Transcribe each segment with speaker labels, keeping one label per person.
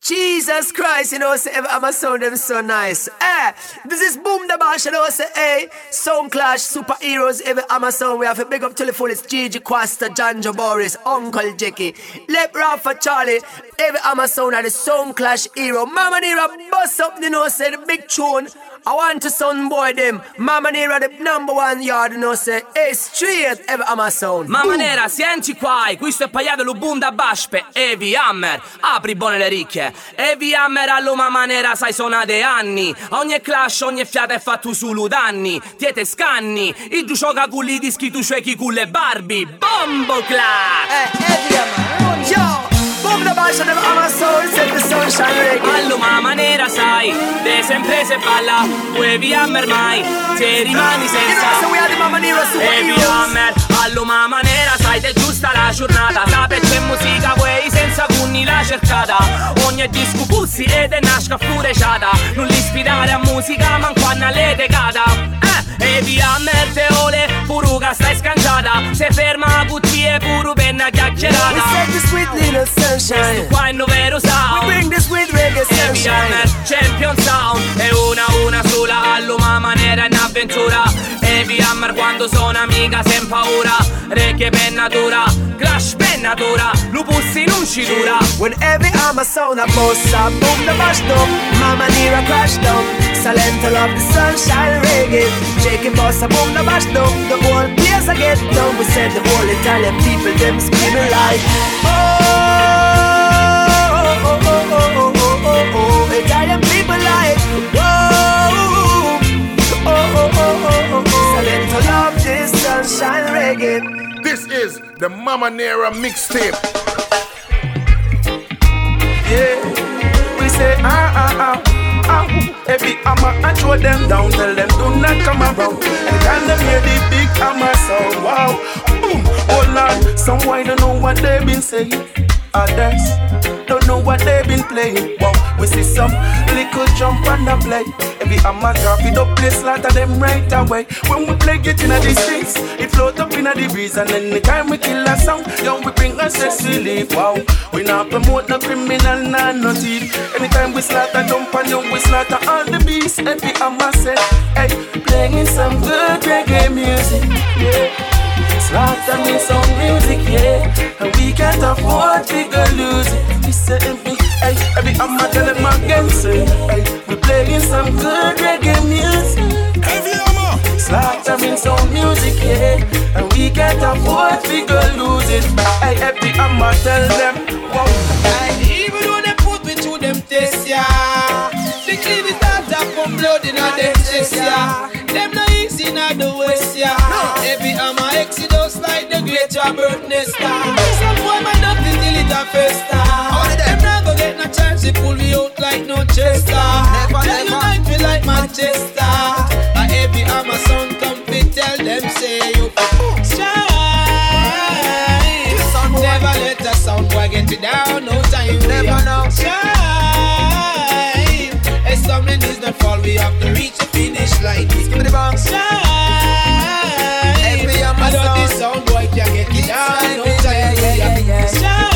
Speaker 1: Jesus Christ, you know, say I'm a sound them so nice. This is Boom the Bash, you know, say, hey, Sound Clash, Superheroes, every Amazon. We have a big up to the full. It's Gigi Quasta, Janjo Boris, Uncle Jackie, Lep Rafa Charlie, every Amazon and the Sound Clash hero. Mama Nera bust up, you know, say the big tune. I want to son boy them. Mama Nera the number one yard, you know, say, hey, straight every Amazon.
Speaker 2: Mama Nera, senti qua, questo è pagliato lo Boom da Bash per Heavy Hammer. Apri buone le ricche. Heavy Hammer allo Mama Nera, sai suonate anni. Ogni clash, ogni fiata è fatto solo danni. Tiete scanni, i tu gioca con i dischi, tu ciechi con le Barbie. Bombo clap!
Speaker 1: Heavy Hammer, yo! Boom the Bash and Amazon, set the sunshine reggae.
Speaker 2: Allo Mama Nera, sai, de sempre se balla. Heavy Hammer mai, te rimani senza.
Speaker 1: So we are the Mama Nera
Speaker 2: Heavy Hammer, allo Mama Nera, sai, te giusta la giornata. Sape c'è musica, quei senza cunni la cercata. Ogni disco pussi ed è nasca fureciata. Non li sfidare a musica, man quando le decada. Heavy Hammer te ole, puruga stai scanciata. Se ferma a buttie, puru penna chiacchierata.
Speaker 1: We set the sweet little sunshine.
Speaker 2: Questo qua è il vero sound.
Speaker 1: We bring the sweet reggae
Speaker 2: Heavy
Speaker 1: sunshine.
Speaker 2: Hammer, Champion Sound. È una sola, allo Mama Nera in avventura. Heavy Hammer quando sono amica sem paura. Reggae penna dura, Clash penna dura. Lupussi non ci dura.
Speaker 1: When every Amazon a boss a boom the bash down. Mama Nera crash down. Silent love the sunshine reggae. Shake it boss a boom the bash down. The whole place I get down. We said the whole Italian people them screaming like oh, Italian people like whoa, Silent love this sunshine reggae.
Speaker 3: This is the Mama Nera mixtape.
Speaker 4: Yeah, we say Heavy Hammer and throw them down. Tell them do not come around. Anytime them hear the big hammer sound, wow, boom, oh Lord. Some why don't know what they've been saying. Others don't know what they've been playing. Wow, we see some little jump and a play. Heavy Hammer drop it up, play slaughter them right away. When we play get in the streets, it float up in the breeze. And anytime we kill a sound, yo, we bring a stress relief. Wow, we not promote no criminal, nah, no thief. Anytime we slaughter jump and yo, we slaughter all the beasts. Heavy Hammer say, hey, playing some good reggae music, yeah. Slaughter me some music, yeah. And we can't afford to go lose it. We say every Hammer tell them again, say, hey, we playing some good reggae music.
Speaker 3: Heavy Hammer.
Speaker 4: Slaughter me some music, yeah. And we can't afford to go lose it. Hey, every Hammer tell them, wow.
Speaker 5: Even though they put me to them tests, yeah. The clean is not up from blood in a them chest, yeah. Them no easy in the west, yeah. Every Hammer exodus like the great birth nest, yeah. Some boy man nothing till it a festa. Them not gonna get no chance to pull me out like no chester. Tell you might feel like Manchester. Every Hammer sound come fit, tell them say you shine. Never let a sound boy get you down, no time. Never know. Shine. As something is not fall, we have to reach the finish line. Give me the bang. Shine. Every Hammer sound. This sound boy can get you down, no time. Shine.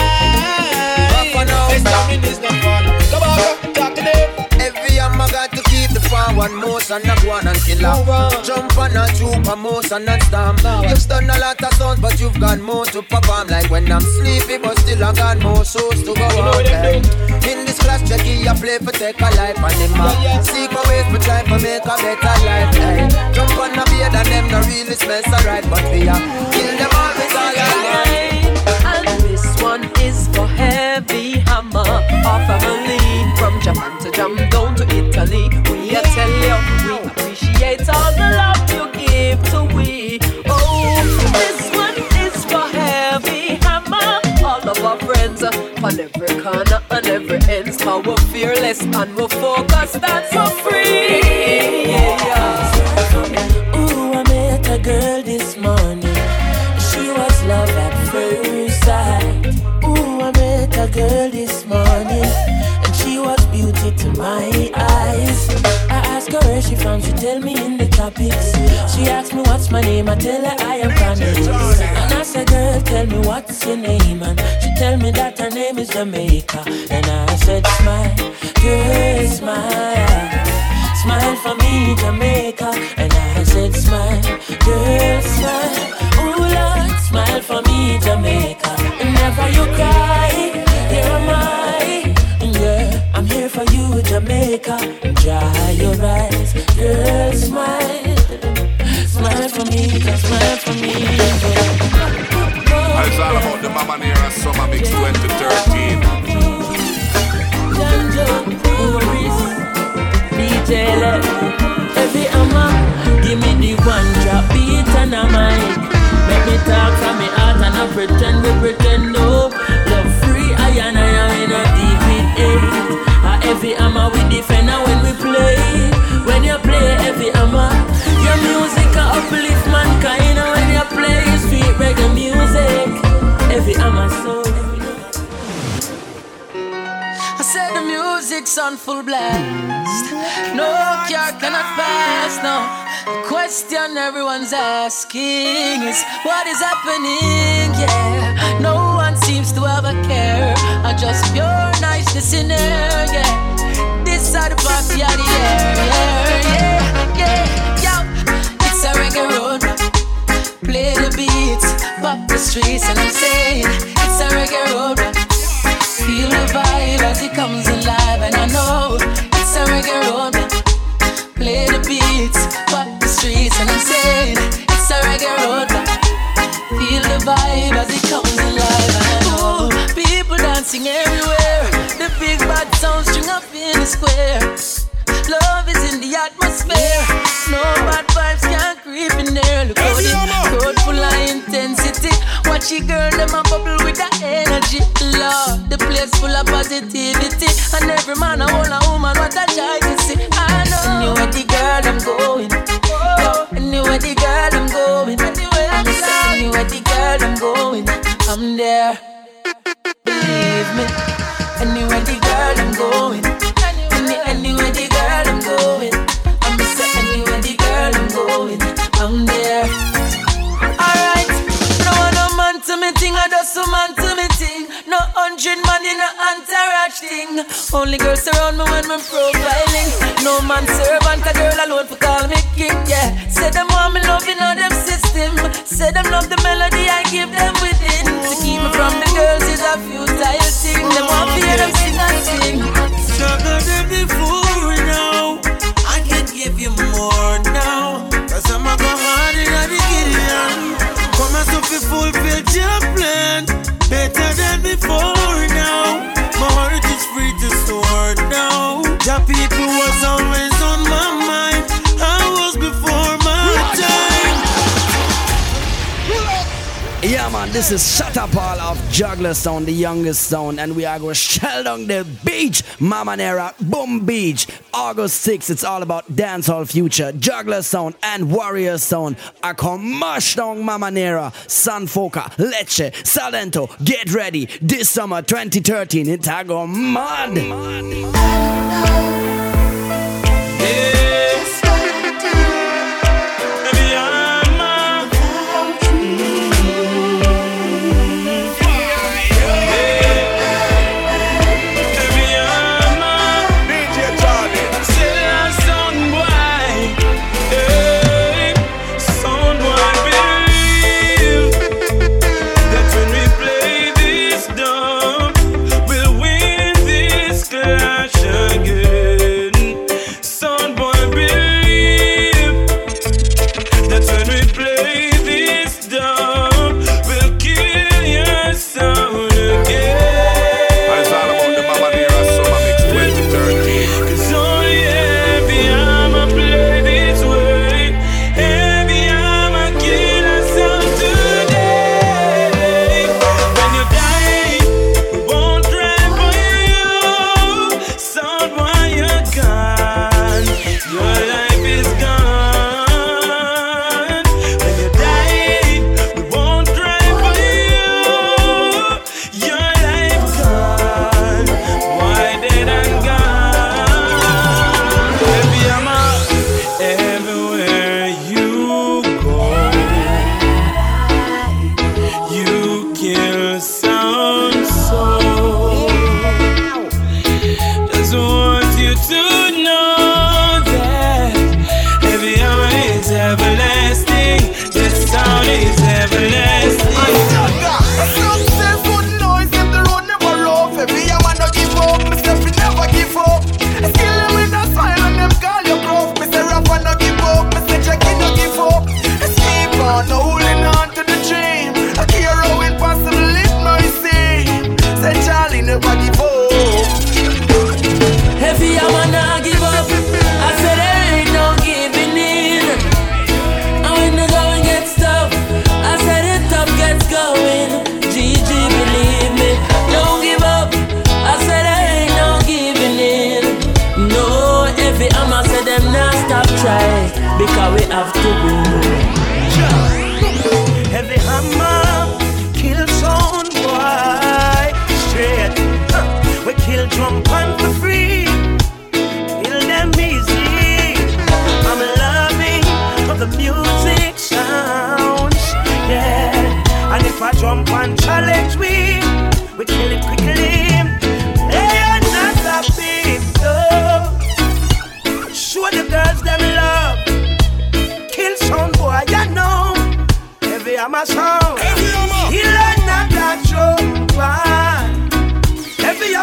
Speaker 5: As something is not fall. Come on, talk to them.
Speaker 6: Every Hammer got to keep the forward motion, not one and killer. Jump on a troop, a motion and stamp. You've done a lot of songs, but you've got more to perform. Like when I'm sleepy, but still I got more shows to go on. In this class, Jackie, I play for take a life and him seek my ways, but try to make a better life. Jump on a beard and them not really smells alright, but we are kill them all with all our life.
Speaker 7: And this one is for Heavy Hammer, our family. From Japan to jump down to Italy, we tell you we appreciate all the love you give to we. Oh, this one is for Heavy Hammer, all of our friends on every corner and every end. How we're fearless and we're focused, that's so free. Yeah.
Speaker 8: Ooh, I met a girl this morning. She was love at first sight. Ooh, I met a girl this morning. She was beauty to my eyes. I asked ask her where she from, she tell me in the tropics. She asked me what's my name, I tell her I am Chronixx. And I said, girl, tell me what's your name, and she tell me that her name is Jamaica. And I said, smile, girl, smile. Smile for me, Jamaica. And I said, smile, girl, smile. Oh Lord, smile for me, Jamaica. And never you cry, here am I. Yeah, I'm here for you, Jamaica. Dry your eyes, girl, smile. Smile for me, just smile for me.
Speaker 3: It's all about the Mama Nera Summer Mix 2013.
Speaker 8: Every give me the one drop beat and a mic. Make me talk from me heart and I pretend we pretend no. Love free, I am in a deep with 8. Every we defend when we play. When you play every your music uplift mankind. When you play sweet reggae music, every soul. I said the music's on full blast. No car cannot pass, no. The question everyone's asking is what is happening, yeah. No one seems to have a care. I just pure niceness in there, yeah. This side of the party of the air, yeah. Yo, it's a reggae road. Play the beats, pop the streets, and I'm saying it's a reggae road. Feel the vibe as it comes alive, and I know it's a reggae road. Play the beats, pop the streets, and I'm saying it's a reggae road. Feel the vibe as it comes alive, and I know people dancing everywhere. The big bad sound string up in the square. Love is in the atmosphere. No bad vibes can't creep in there. Look how the road full of intensity. Watch your girl, them a bubble with that energy. Lord, the place full of positivity. And every man, a whole a woman, what a joy to see. I know. Anywhere the girl, I'm going. Anywhere the girl, I'm going. Anywhere the girl, I'm going. I'm there. Believe me. Anywhere the girl, I'm going. Anywhere the girl, I'm going. I'm say anywhere the girl, I'm going. I'm there. Alright. No man to me thing, I just a man to me thing. No 100 man in a entourage thing. Only girls around me when I'm profiling. No man servant, a girl alone for call me king, yeah. Say them want me loving on them system. Say them love the melody I give them within. To keep me from the girls is a futile thing. Them want to hear them sing and sing.
Speaker 9: Stronger than before now. I can give you more now. Cause I'm a go hard in the Gideon. Come and so fulfill your plan. Better than before now. My heart is free to soar now. The people was always on my mind. I was before my time.
Speaker 1: Yeah man, this is Shut Up All of Juggler Sound, the youngest sound, and we are going to shell down the beach. Mama Nera, Boom Beach. August 6th, it's all about dancehall future. Juggler Sound and Warrior Sound are come mash down Mama Nera, Sanfoca, Lecce, Salento. Get ready, this summer 2013, it's a go mad.
Speaker 9: Again.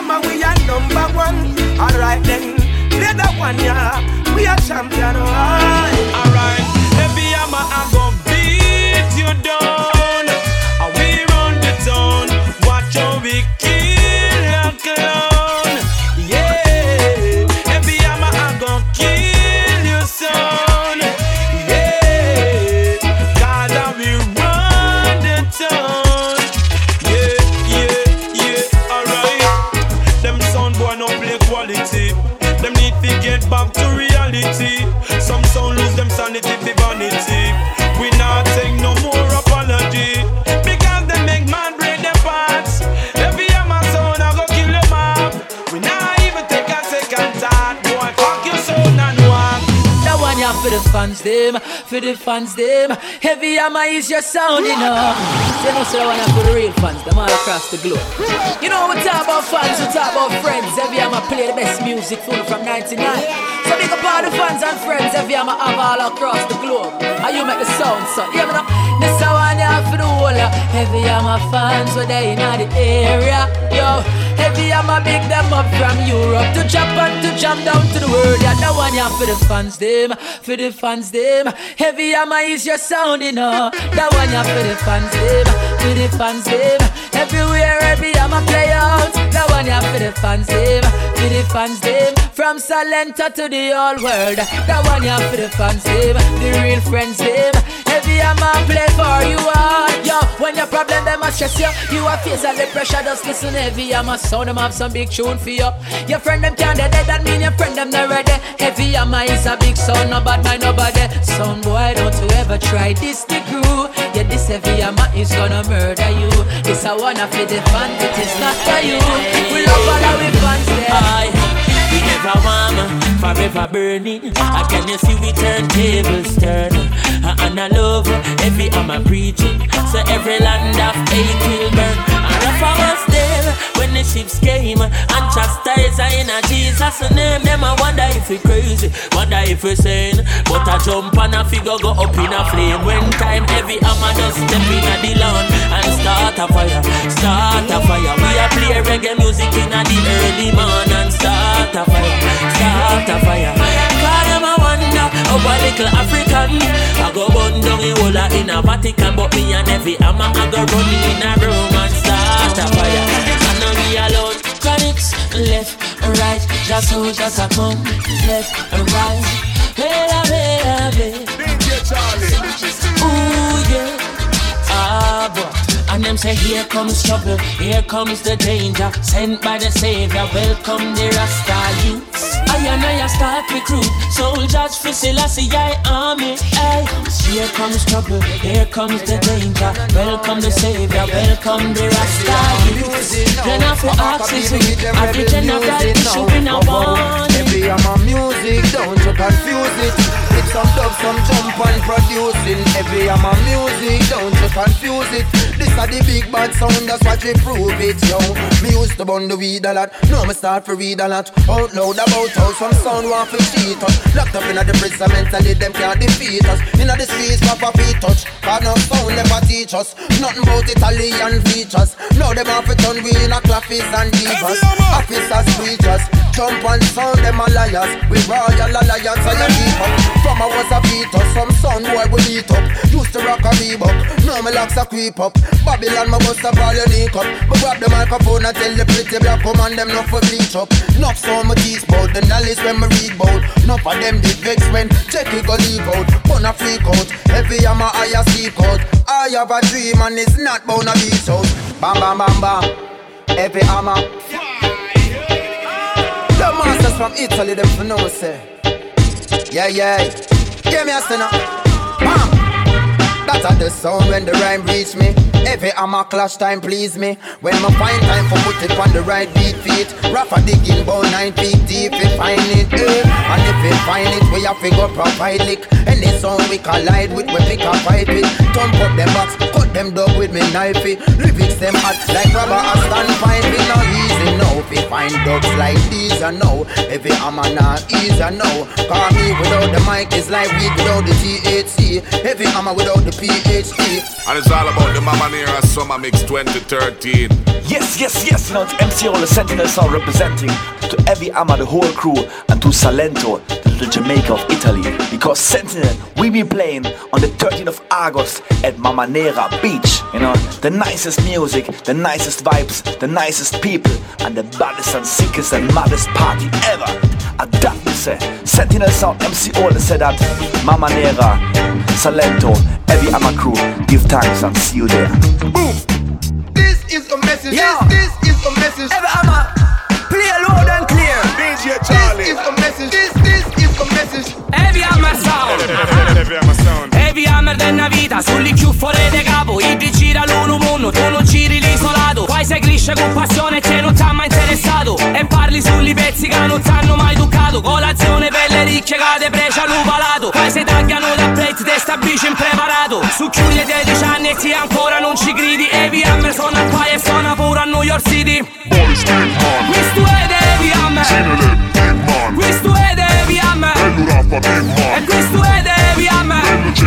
Speaker 4: Hammer, we are number one. Alright then, play that one, yeah. We are champion, alright.
Speaker 9: Heavy Hammer, I gon' beat you down. And we run the town. Watch how we kill a clown. Yeah, Heavy Hammer, I gon' kill you son. Yeah, cause we run the town. Yeah, alright. Them sound boy no play quality. Them need to get back to reality. Some sound lose them sanity for vanity. We not take no more apology. Because they make man break their parts. Every Hammer sound I go kill them up. We not even take a second thought. Boy, fuck your sound and walk.
Speaker 8: That one ya for the fans them, for the fans them. Heavy Hammer is your sound, you know. They know so that one ya for the real fans, them all across the globe. You know we talk about fans, we talk about friends. Heavy Hammer play the best music full from 99. So big up all the fans and friends. Heavy Hammer have all across the globe. And you make the sound, so yeah, me know. This one ya for the whole Heavy Hammer fans, where they in the area. Yo, Heavy Hammer big them up from Europe to Japan to jam down to the world. Yeah, that one ya for the fans them, for the fans them. Heavy Hammer is your sound, you know. That one ya for the fans them, for the fans them. Everywhere Heavy Hammer play out. That one ya for the fans them, for the fans them. From Salenta to the whole world. That one ya for the fans them, the real friends them. Heavy Hammer play for you all. Yo, when your problem them a stress you, you a face all the pressure. Just listen Heavy Hammer sound, them have some big tune for you. Your friend them can't dead, that mean your friend them not ready. Heavy Hammer is a big sound, no bad mind nobody. Sound boy, don't you ever try this the crew. Yeah, this Heavy Hammer is gonna murder you. This I wanna for the fans, it is not for you. We love all our fans there.
Speaker 10: We never warm, forever burning. Again you see we turn tables turn. And I love Heavy Hammer preaching. So every land of hate will burn. And if I was there when the ships came and chastise in a Jesus' name, them I wonder if we crazy, wonder if we sane. But I jump and a figure go up in a flame. When time Heavy Hammer just step in a the lawn and start a fire, start a fire. We a play reggae music in a the early morning and start a fire, start a fire. Cause them I wonder how a little African I go burn down the whole in a Vatican. But me and Heavy Hammer I go run in a room and start a fire. And now we alone. Chronics left and right, just so just a come left and right. Ooh yeah, ah boy. And them say here comes trouble, here comes the danger. Sent by the Savior, welcome the Rasta youths. I and I start recruit soldiers for Selassie army. Hey, here comes trouble, here comes the danger. Welcome the Savior, welcome the Rasta youths. Then after oxygen, every general should be now born.
Speaker 6: Heavy Hammer music, don't you confuse it. It's some dub, some jump and producing. Heavy Hammer music, don't you confuse it. This are the big bad sound, that's what we prove it, yo. Me used to burn the weed a lot, now me start to read a lot. Out loud about how some sound want to cheat us. Locked up in the prison mentally, them can't defeat us. In the streets, papa feet touch, cause no sound never teach us. Nothing about Italian features. Now them have to turn we in a claffies and divas. Officers, preachers, jump and sound, them a liars. We royal alliance and a keep up. From I was a fetus, some sound boy we beat up. Used to rock a Reebok, now me locks a creep up. Babylon, my bust up all your link up. But grab the microphone and tell the pretty black woman them not for bleach up. Enough so my teeth bout, the knowledge when me read bout. Enough of them did vex when check it go leave out. Wanna freak out, Heavy Hammer I a seek out. I have a dream and it's not bound to be so. Bam bam bam bam, Heavy Hammer. The masters from Italy them for know say. Yeah, give me a sinner. Bam. That's at the sound when the rhyme reach me. Heavy Hammer clash time please me. When I find time for put it on the right beat feet. Rafa digging about 9 feet deep, we find it, and if we find it, we have to go provide lick. Any song we collide with, we pick a fight with. Thump up them box, cut them dog with me knifey. Lyrics them hot like rubber, I stand fine. We not easy now, we find find dogs like these I know. Every hammer not easy I know. Call me without the mic is like weed without the THC. Every hammer without the PhD.
Speaker 3: And it's all about the Mama Nera Summer Mix 2013.
Speaker 11: Yes, you know, it's MC All the Sentinel Sound representing to Heavy Hammer, the whole crew, and to Salento, the Jamaica of Italy. Because Sentinel, we be playing on the 13th of August at Mama Nera Beach. You know, the nicest music, the nicest vibes, the nicest people, and the baddest and sickest and maddest party ever. And that we say, Sentinel Sound, MC All the said that, Mama Nera, Salento, Heavy Hammer crew, give thanks and see you there.
Speaker 6: Boom! This is a message.
Speaker 1: Yeah.
Speaker 6: This is a message.
Speaker 1: Heavy Hammer, play loud and clear.
Speaker 3: DJ Charlie.
Speaker 6: This is a message. This is a message.
Speaker 2: Heavy Hammer Sound. Heavy Hammer della vita, sulli chiuffole de capo. I gira l'uno, tu non giri l'isolato. Poi sei cresce con passione che non t'ha mai interessato. E parli sugli pezzi che non t'hanno mai toccato. Colazione per le ricche che te precia l'uvalato. Poi se tagliano da plate, te sta bici impreparato. Su chiudi 10 anni e ti ancora non ci gridi. Heavy Hammer suona qua e suona pure a New York City. Questo è Heavy Hammer. Questo è Heavy Hammer. E questo è Heavy Hammer.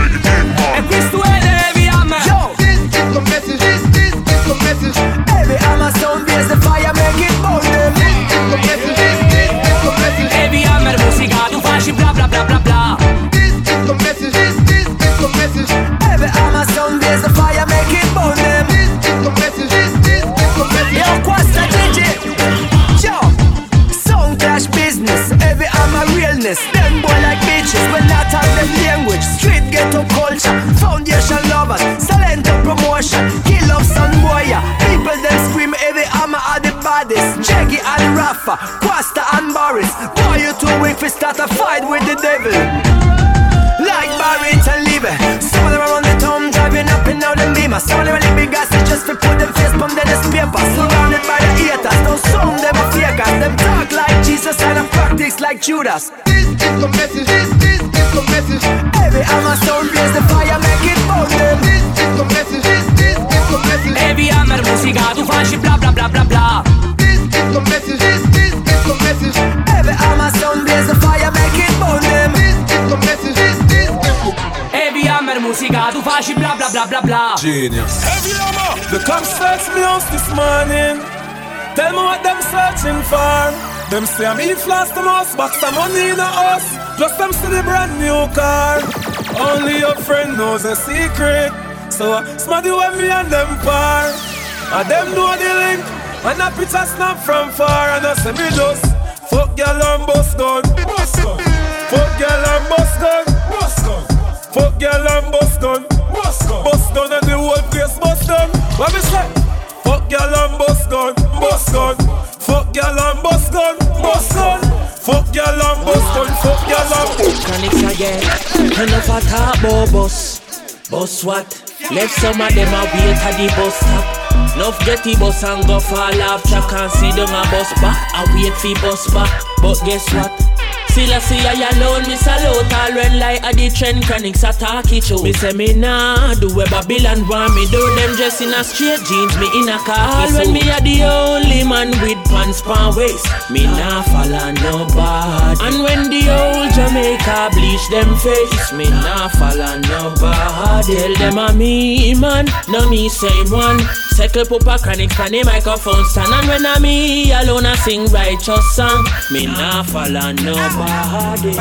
Speaker 2: E questo è Heavy Hammer.
Speaker 1: Yo,
Speaker 6: This is a message. This is a message.
Speaker 1: Heavy Hammer sound, raise the fire, make it burn them.
Speaker 6: This is a message. This is a message.
Speaker 2: Heavy Hammer musica, tu faci bla bla bla bla bla.
Speaker 6: This is a message. This is a message.
Speaker 1: Heavy Hammer sound, raise the fire, make it burn them.
Speaker 6: This is a message. This is a message.
Speaker 1: Yo, Quasta DJ. Yo, sound clash business. Heavy Hammer realness. Them boy like bitches when not have them language. Street ghetto culture, foundation lovers, Salento promotion, kill off some boy. People them scream Heavy Hammer are the baddest. Jaggy and Rafa, Quasta and Boris. Boy, you too weak for start a fight with the devil. Like Barrett and Levy. Some of them are on the town driving up and down the beamer. Some of them are big asses just to put them face on the newspaper. Surrounded by the haters, don't sound them a fakers. Them talk like Jesus and a practice like Judas.
Speaker 6: This is a message. This is a message.
Speaker 1: Heavy Hammer sound, raise the fire, make it burn them.
Speaker 6: This is a message. This is a message.
Speaker 2: Heavy Hammer musica, tu faci bla bla bla bla bla.
Speaker 6: This is a message. This is a message.
Speaker 1: Heavy Hammer sound, raise the fire, make it burn them.
Speaker 6: This is a message. This is a
Speaker 2: Heavy Hammer musica, tu faci bla bla bla bla bla.
Speaker 3: Genius.
Speaker 4: Heavy Hammer. The cops search me house this morning. Tell me what them searching for. Them say I'm in flash the most, box some money in the house. Plus them see the brand new car. Only your friend knows a secret. So smarty when me and them par. And them know the link. And a picture snap from far. And I say me just fuck girl and bust gun. Fuck girl and bust gun. Fuck girl and bust gun. Bust gun and the whole place bust gun. What me say? Fuck girl and bust gun. Bust gun. Fuck girl and bust gun. Bust gun. Fuck girl and bust gun. Fuck girl and bust gun.
Speaker 10: Chronics again. Enough a talk about bus. Bus what? Left some of them a wait at the bus stop. Enough get the bus and go fall off track. Can't see them a bus back. I wait for bus back. But guess what? Still I see I alone, me salute all when like a the trend chronics attack it show. Me say me nah do where Babylon want me do. Them dress in a straight jeans, me in a khaki suit. When me a the only man with pants pan waist, me nah follow nobody. And when the old Jamaica bleach them face, me nah follow nobody. Tell them a me man, no me same one. Circle pupa chronics on the microphone stand. And when a me alone I sing righteous song, me nah follow nobody.
Speaker 3: DJ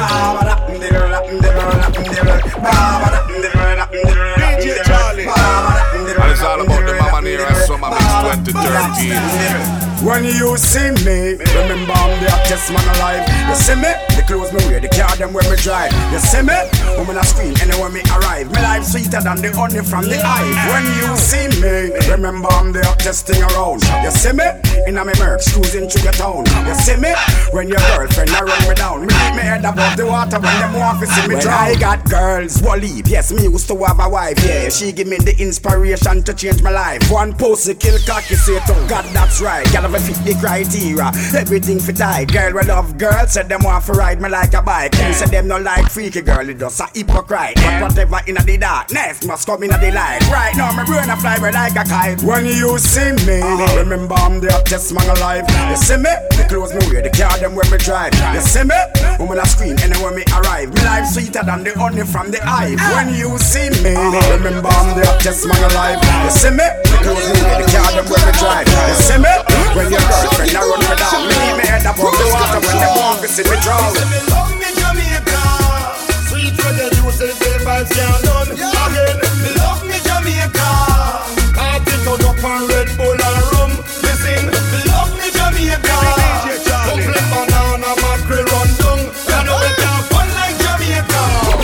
Speaker 3: Charlie. And it's all about the Mama Nera Summer Mix 2013.
Speaker 12: When you see me, remember I'm the hottest man alive. You see me, the clothes me wear, the car them where me drive. You see me, woman I scream anywhere me arrive. My life sweeter than the honey from the hive. When you see me, remember I'm the hottest thing around. You see me, in a me Mercs cruising through your town. You see me, when your girlfriend a run me down. Me keep me head above the water when them want to see me drown. I got girls, Waleed, yes me used to have a wife. Yeah, she give me the inspiration to change my life. One pussy kill cocky, say to God that's right. Gotta fit the criteria, everything fit tight. girl we love girls, said them want to ride me like a bike. Them say them no like freaky girl, it just a hypocrite. But whatever in the darkness must come in the light. Right now my brain a fly like a kite. When you see me, remember I'm the hottest man alive. You see me? The clothes me wear, the car them when me drive. You see me? Woman a scream anywhere me arrive. Me life sweeter than the honey from the hive. When you see me, remember I'm the hottest man alive. You see me? The clothes me wear, the car them when me drive. You see me? When your girlfriend a run me down, me head above the water when they want to see me drown.
Speaker 13: Me love me Jamaica, sweet reggae juices, the vibes can't done again. Me love me Jamaica, I take out up on Red Bull and rum. Listen, me love me Jamaica, couple banana mackerel run down. You know it can't fun like Jamaica.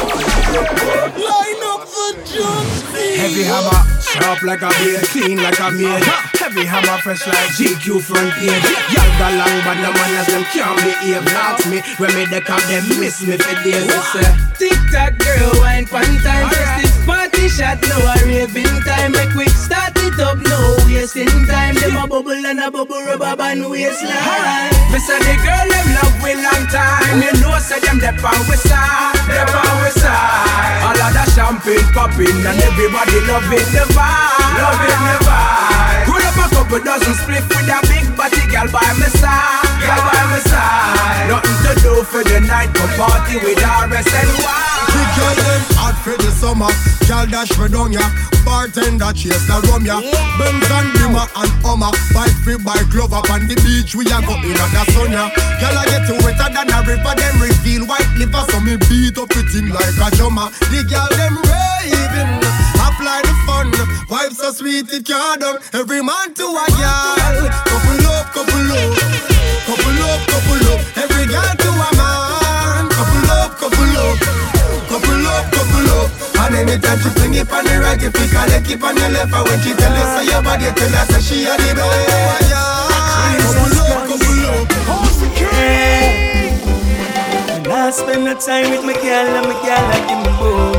Speaker 13: Line up the jump.
Speaker 5: Heavy hammer, sharp like a blade, clean like a maid. Heavy hammer, fresh like GQ front page. Y'all got long, but no man as them can't behave. Ask me, when me deck up, them miss me for days.
Speaker 14: Tic-tac girl, wine pan time. First this party shot, now a raving time. Make we start it up, no wasting time. Them a bubble and a bubble rubber band waistline.
Speaker 5: Me say the girl them love we long time. You know say them dep on we side, dep on we side. All of the champagne popping and everybody love it, the vibe, love it, the vibe. Pull up a couple dozen split with a big body girl by my side, girl by my side. Nothing to do for the night, go party with RSNY.
Speaker 13: The girl them hot for the summer, girl dash for down ya. Bartender chase the rum ya. Benz and Bimmer and Hummer, bike free bike love up on the beach. We a go in at the sun ya. Girl I get to wetter than a river, them reveal white liver, so me beat up it in like a drummer. The girl them raving, apply the fun, vibes so sweet it can't done. Every man to a girl, couple up, couple up, couple up, couple up. Every girl to a man, couple up, couple up, couple up, couple up. And anytime she fling it on the right, you pick her leg, keep on the left. And when she tell us say your body, tell her say she a the best. Couple up, couple up.
Speaker 5: When I spend the time with my girl and my girl I give me bone.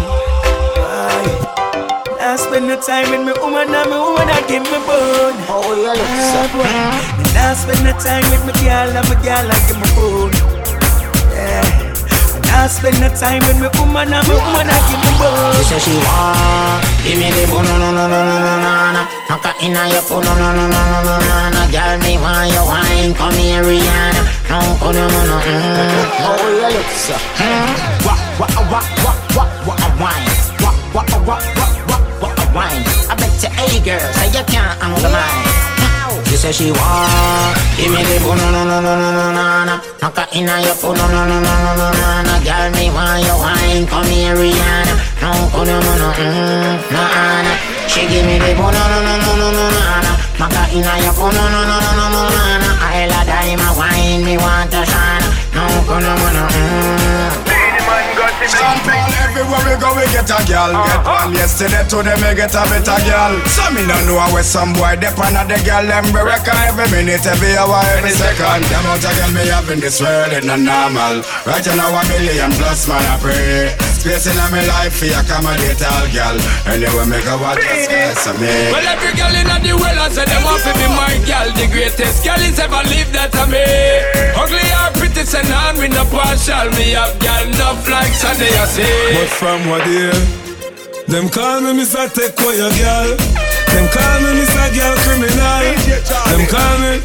Speaker 5: I spend the time with my woman and my woman I give me bone.
Speaker 6: Oh, you look so.
Speaker 5: When I spend the time with my girl and my girl I give me bone. Yeah. I spend the time with my woman and my woman I give me bone.
Speaker 6: She say she want give me the bone, no, no, no, no, no, no, no. Knock her in your phone, no, no, no, no, no, no, no, no. Girl, me want your wine, come here, Rihanna. No, no, no, no, no. Oh, you look so. What a wine. What a wine. I bet you, hey girl, say you can't handle mine. She say she want give me the bone, no, no, no, no, no, no, no. Knock her in your phone, no, no, no, no, no, no, no. Girl, me want your wine, come here, Rihanna. No, no, no, no, no. She give me the bone, no, no, no, no, no, no, no. Knock her in your phone, no, no, no, no, no, no, no. I love my wine, me want to shine. No, no, no, no.
Speaker 12: Stand tall everywhere we go, we get a girl. Get one yesterday, today me get a better girl. So me don't know where some boy depend on the girl. Them we reckon every minute, every hour, every second. The amount of girl me have in this world is not normal. Right now 1 million plus man I pray. Space in my life for accommodate all girl. Anyway me go watch just guys of me.
Speaker 2: Well every girl in the world I say them want to be my girl. The greatest girl is ever lived that to me. Ugly or pretty, say none with no partial. Me have girl enough like Sunday I say.
Speaker 15: But from what day, them call me Mr. Take away your girl. Them call me Mr. Girl Criminal. Them call me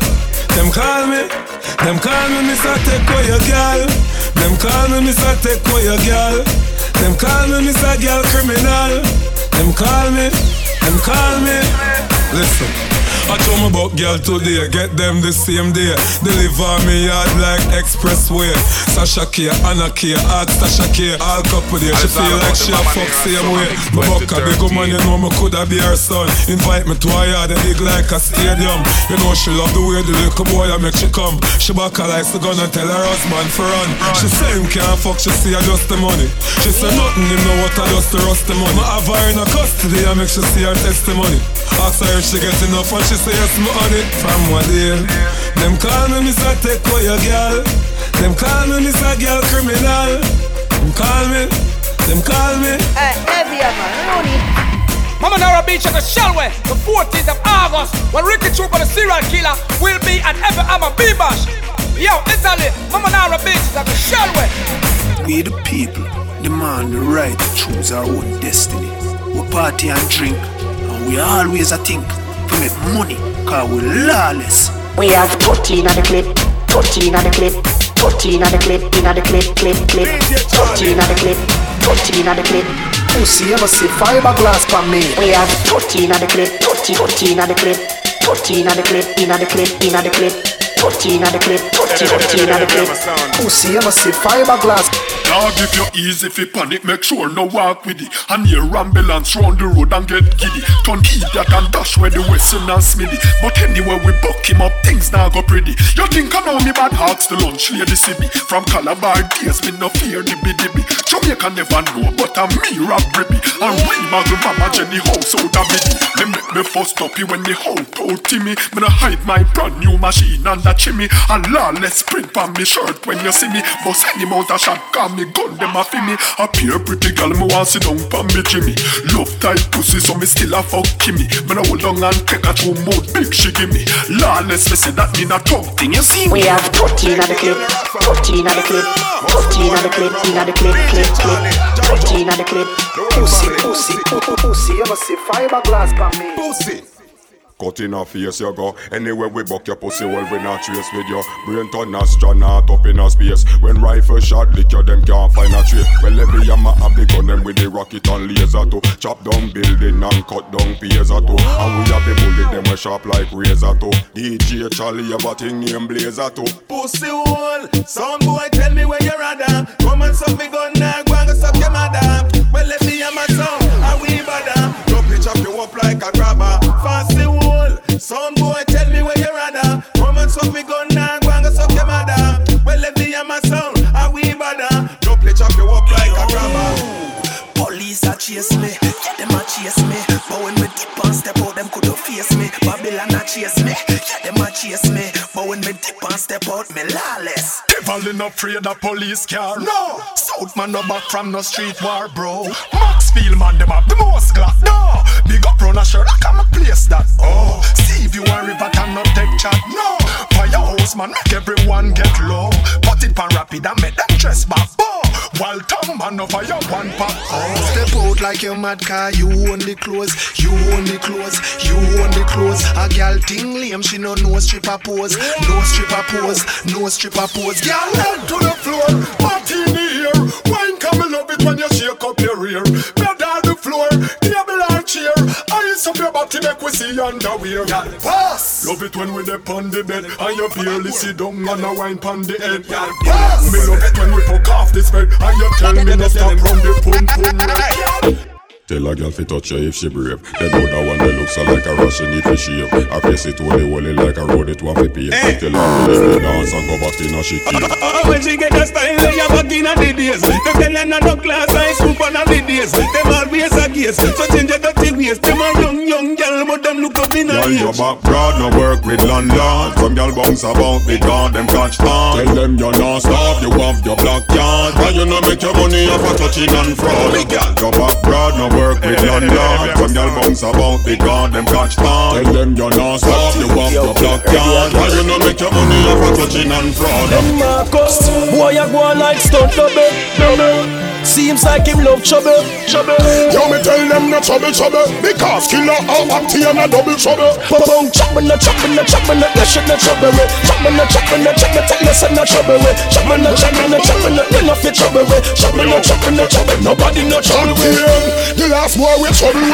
Speaker 15: Mr. Take away your girl. Them call me Mr. Take away your girl. Them call me Mr. Girl Criminal. Them call me. Listen, I told me about girl today, get them the same day. Deliver me yard like expressway. Sasha K, Anna K, Art Sasha K, all couple there. She feel like she a fuck same way. My buck a big woman, you know me coulda be her son. Invite me to her yard, big like a stadium. You know she love the way the little boy I make she come. She back her like the gun and tell her husband for run. She say him can't fuck, she see her just the money. She say nothing, him know what I just the rust the money. I have her in a custody, I make she see her testimony. Ask her if she get enough and she say yes, me on it. From what day, them call me Mr. Take away your girl. Them call me Mr. Girl Criminal. Them call me.
Speaker 16: Hey, heavy man, Rooney.
Speaker 2: Mama Nara Beach at the Shelway, the 14th of August, when Ricky Troop and the serial killer will be at Ever Hammer B-Bash. Yo, it's a
Speaker 5: Charlie, Mama Nara bitches, I'm a Shelway.
Speaker 17: We the people demand the right to choose our own destiny. We party and drink, and we always a think to make money, cause we lawless.
Speaker 18: We have 14 at the clip, 14 at the clip, 14 at the clip, in at the clip, clip. 14 at the clip, 14 at the clip.
Speaker 17: Pussy ever see fiberglass for me?
Speaker 18: We have 14 at the clip, 14 at the clip, 14 at the clip, in at the clip, in at the clip. 14 at the clip, 14 at the clip.
Speaker 17: Pussy ever see fiberglass?
Speaker 19: Dog, if you're easy fi panic, make sure no walk with it. And hear ambulance round the road and get giddy. Turn idiot and dash where the Western and Smithy. But anyway we buck him up, things now go pretty. You think I know me bad hawks the lunch lady see me. From Calabar days, me no fear dibby. Jamaica never know, but I'm me Rob Ribby. And we muggle mama Jenny house out of biddy. They make me first up when the whole told Timmy. Me no hide my brand new machine under chimney. And lawless print on me shirt when you see me. Bust any mount a shot, call me gun them a fi me. A pure pretty girl me want sit down for me Jimmy. Love tight pussy so me still a fuck Kimmy. Me no hold on and take a two mouth big she give me. Lawless me say that me not tongue thing you see.
Speaker 18: We have 14 at the clip, 14 at the clip, 14 at the clip, in at the clip, clip. 14 at the clip.
Speaker 17: Pussy ever see fiberglass for me?
Speaker 19: Pussy. Cut in a face you go. Anyway we buck your pussy well we not trace with you. Brain turn astronaut up in a space. When rifle shot lick you them can't find a trace. Well every yama have the gun them with the rocket and laser too. Chop down building and cut down piers too. And we have the bullet them we sharp like razor too. DJ Charlie have a thing named Blazer too.
Speaker 20: Pussy hole, some boy tell me where you rather. Come and suck me gun now, go and go suck your mother. Well let me have my song, and we bother. Don't pitch up you up like a grabber. Fancy hole. Some boy tell me where you rather. Come and suck me gun now, go and go suck your mother. Well let me hear my sound, and we bother. Don't play chop you up like a grabber.
Speaker 17: Police a chase me, yeah them a chase me. But when we dip and step out, them couldn't face me. Babylon a chase me, yeah them a chase me. But when me dip and step out, me lawless.
Speaker 19: Devil no afraid of police car. No, South man no back from no street war, bro. Maxfield man them have the most glass. No, big up run a shirt, I come a place that. Oh, see if you a river cannot take chat. No, firehouse man make everyone get low. Put it pan rapid and make them dress back. Oh, while Tom man no fire one pack.
Speaker 17: Oh, step out like your mad car, you own the clothes, you own the clothes, you own the clothes. A girl ting lame, she no stripper pose, no stripper pose, no stripper pose.
Speaker 19: Girl head to the floor, party in the air. Wine come love it when you shake up your rear. Bed on the floor, table and chair. Ice up your body make we see underwear. Pass. Love it when we dip on the bed and you barely sit down and a wine pon the head. Pass. Me love it when we fuck off this bed and you tell me no stop from the pum pum. Tell a girl fi touch her if she brave. Then know that one that looks like a rush she need to shave. Her face it holy like a road it want to pay. Tell her to let me dance and go back in a shit.
Speaker 20: When she get a style they a back in a the days. Them tell her no class I scoop on a the days. Them always a gaze, so change your dirty ways. Them a young girl but them look up in a age.
Speaker 19: Your back broad no work with landlord. Some girl bounce about big on them catch on. Tell them you're not stop, you have your black yard. Why you no make your money off a touching and fraud? Your back broad no work with landlord. Some girl bounce about big on them catch on. Tell them you're not stop, you have your black yard. Why you no make your money off a touching and fraud?
Speaker 20: Them Marcus, boy a go like stunt double. Seems like him love trouble.
Speaker 19: Yo me tell them no trouble. Because killer out party and a double trouble.
Speaker 20: Boom, choppin' no, that shit no trouble. Choppin' no, tell us no trouble. Choppin' no, you no fit trouble. Choppin' no, nobody no trouble.
Speaker 19: The last boy we trouble.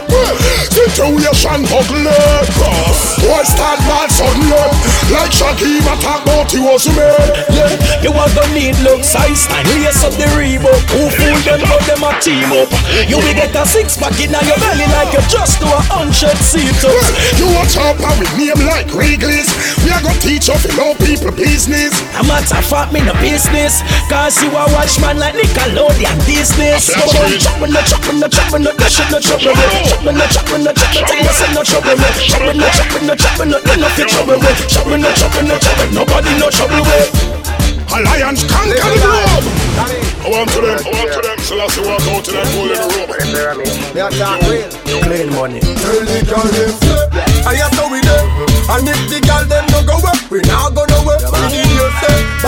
Speaker 19: Situation ugly. Boy start bad suddenly. Like Shaggy talk about he was a man.
Speaker 20: Yeah, you are gonna need look size and lace up the Reebok. Who fool them but them a team up. You will get a six-pack in your belly like you just do 100 sit-ups.
Speaker 19: You watch out and we name like Wrigley's. We are gonna teach you to know people business.
Speaker 20: A matter of fact me no business. Cause you a watchman like Nickelodeon business. Choppin' no, that shit no trouble. Choppin' no, tell us no trouble. Choppin' no, you no fit trouble. Choppin' no, nobody no trouble with.
Speaker 19: Alliance conquer the globe. I want to them, so let's walk out to them, pull in the room.
Speaker 17: They are not real. Clean money.
Speaker 20: Tell the girl them I have to with them. And if the girl them no go up, we not gonna work. We need you say, but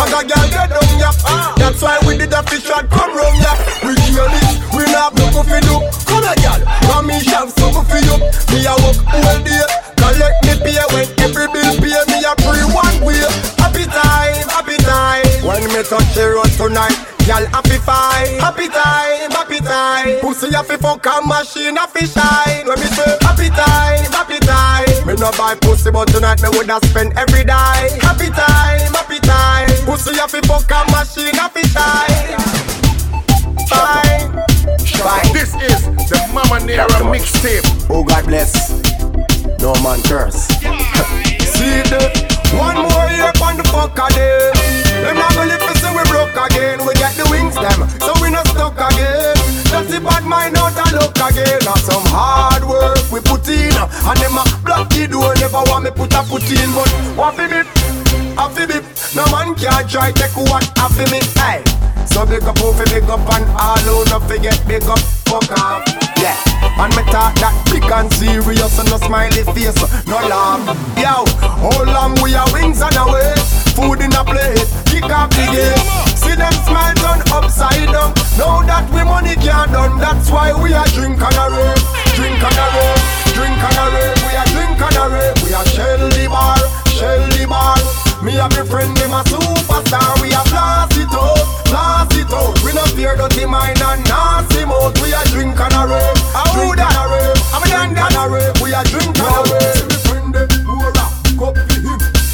Speaker 13: bag a girl get down ya. That's why we did a fish shot come round ya. We kill it, we not broke for you. Come a girl, want me shove something for you. Me a work all day, collect me pay when every bill pay. Me a free one way. Happy time, happy time. When me touch the road tonight, girl happy fine. Happy time, happy time. Pussy happy fuck a machine happy shine. When me say happy time, happy time. Me no buy pussy but tonight me woulda spend every day. Happy time, happy time. Pussy happy fuck a machine happy shine. Fine.
Speaker 3: This is the Mama Nera mixtape.
Speaker 13: Oh God bless. No man curse. See the one more year on the fuck again. Them not gonna live to say we broke again. We get the wings them, so we not stuck again. Just the bad mind out and look again. Now some hard work we put in, and them a block the door. Never want me put a foot in, but what fi bit, a fi bit. No man can't try take what a fi me. Hey, so big up, who fi big up, and all who not forget big up. Fuck off, yeah. And me talk that big and serious, and no smiley face, no laugh. Yo, how long we are wings on the way? Food in a plate, kick off the game. See them smile turn upside down. Now that we money can't done, that's why we are drink and a rave. Drink and a rave, drink and a rave. We are drink and a rave. We are shell the bar, shell the bar. Me and my friend, them a superstar. We are blast it out, blast it out. We no fear dirty mind and nasty mouth. We are drink and a rave, drink and a rave. I'm a young and a rave. We are drink and a rave. See me friend, them who a rap, cup for him.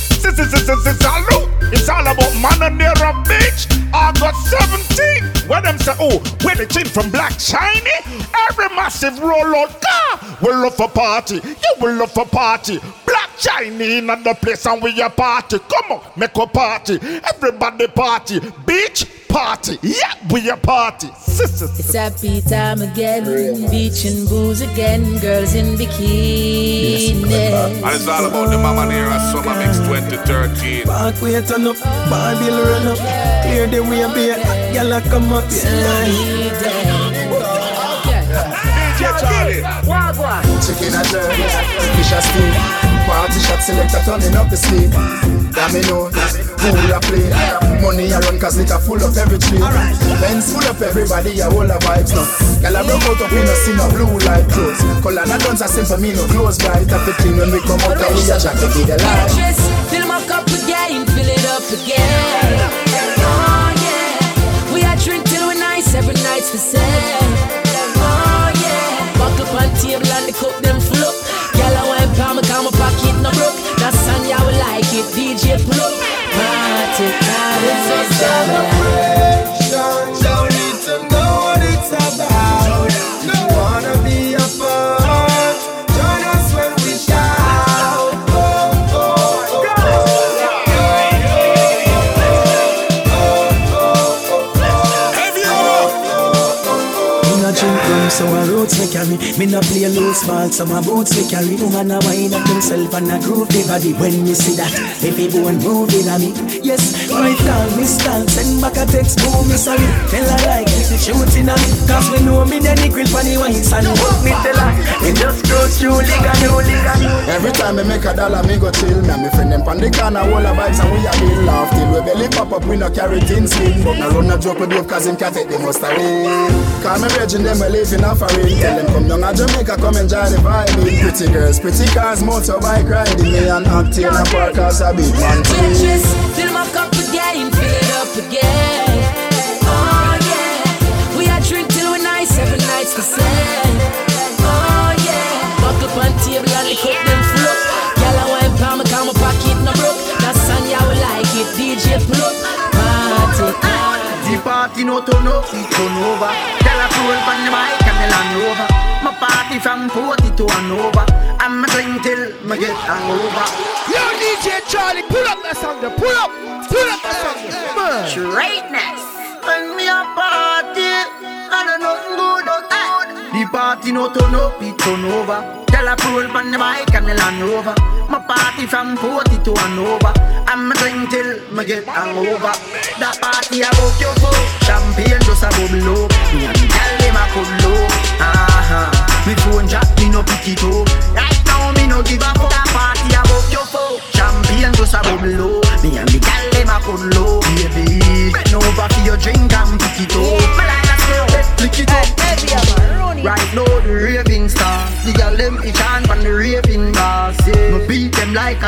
Speaker 3: It's all about Mama Nera, bitch. August 17. Where them say, oh, where the chick from Black Shiny? Every massive rollout car will love for party. You will love for party. Black Shiny in the place and we a party. Come on, make a party. Everybody party. Beach party. Yeah, we a party.
Speaker 8: It's happy time again. Beach and booze again. Girls in bikinis.
Speaker 3: And it's all about the Mama Nera Summer Mix 2013.
Speaker 14: Back way turn up, Barbie run up. Clear the way, baby. Y'all come up.
Speaker 3: DJ Charlie.
Speaker 13: Chicken and jerky, fish and steam. Party shot selector turning up the sleep. Domino, pool a play. Money a run cause liquor full up every tree. Benz full up everybody, a whole of vibes now. Y'all a broke out up, we no see no blue light clothes. Color and guns are simple, me no clothes bright. After clean when we come out and we a jack to be the light.
Speaker 8: Fill my cup again, fill it up again. Oh yeah, we a drink till we nice, every night's the same. Oh yeah, buckle on table and the cup them full up. Girl I wine palm, cause my pocket no broke. That's song yeah we like it, DJ pull up. Party, it's a celebration.
Speaker 13: Don't need to know what it's about. Don't wanna be a part. Join us when we shout.
Speaker 14: So my roots me carry. Me no play low small, so my boots me carry. Woman a wind up themself and a groove the body. When you see that, every bone moving on me. Yes, my style, me style. Send back a text, boom, me sorry. Tell her like it's shooting on me. Cause we know me then the grill for the wines and hook me tell her. Me just go through liga.
Speaker 13: Every time I make a dollar, me go chill. Me and my friend them pan the corner, all the vibes and we a bill laugh. Till we belly pop up, we no carry things slim. But now run a joke with dope cause him can't take the most away. Cause me virgin them we live in a foreign. Tell them come down to Jamaica, come enjoy the vibe. Pretty girls, pretty cars, motorbike riding. Me and Octane a park as a big man team.
Speaker 8: Fill my cup again, fill it up again. Oh yeah, we a drink till we nice, every night's the same. Oh yeah, buckle on table and the cup them full up. Y'all a wine palm, cause my pocket no broke. That's song yeah we like it, DJ pull up. Party.
Speaker 21: The party no turn up, it turn over. Tell a fool from the mic and the Land Rover. My party from 40 to Hanover. I'm a drink till me get hangover.
Speaker 3: Yo DJ Charlie, pull up that song there, pull up that song there.
Speaker 21: Straightness. When me a party, and I nothing good. The party no turn up, it turn over. Tell a fool from the mic and the Land Rover. My party from 40 to Hanover. I'm a drink till me get hangover. That party I broke your foot. Champagne just a bubble up. Me and the girl them a cuddle up. Me phone jack, me no pick it up. Right now me no give a fuck. That party I broke your foot. Champagne just a bubble up. Me and the girl them a cuddle up.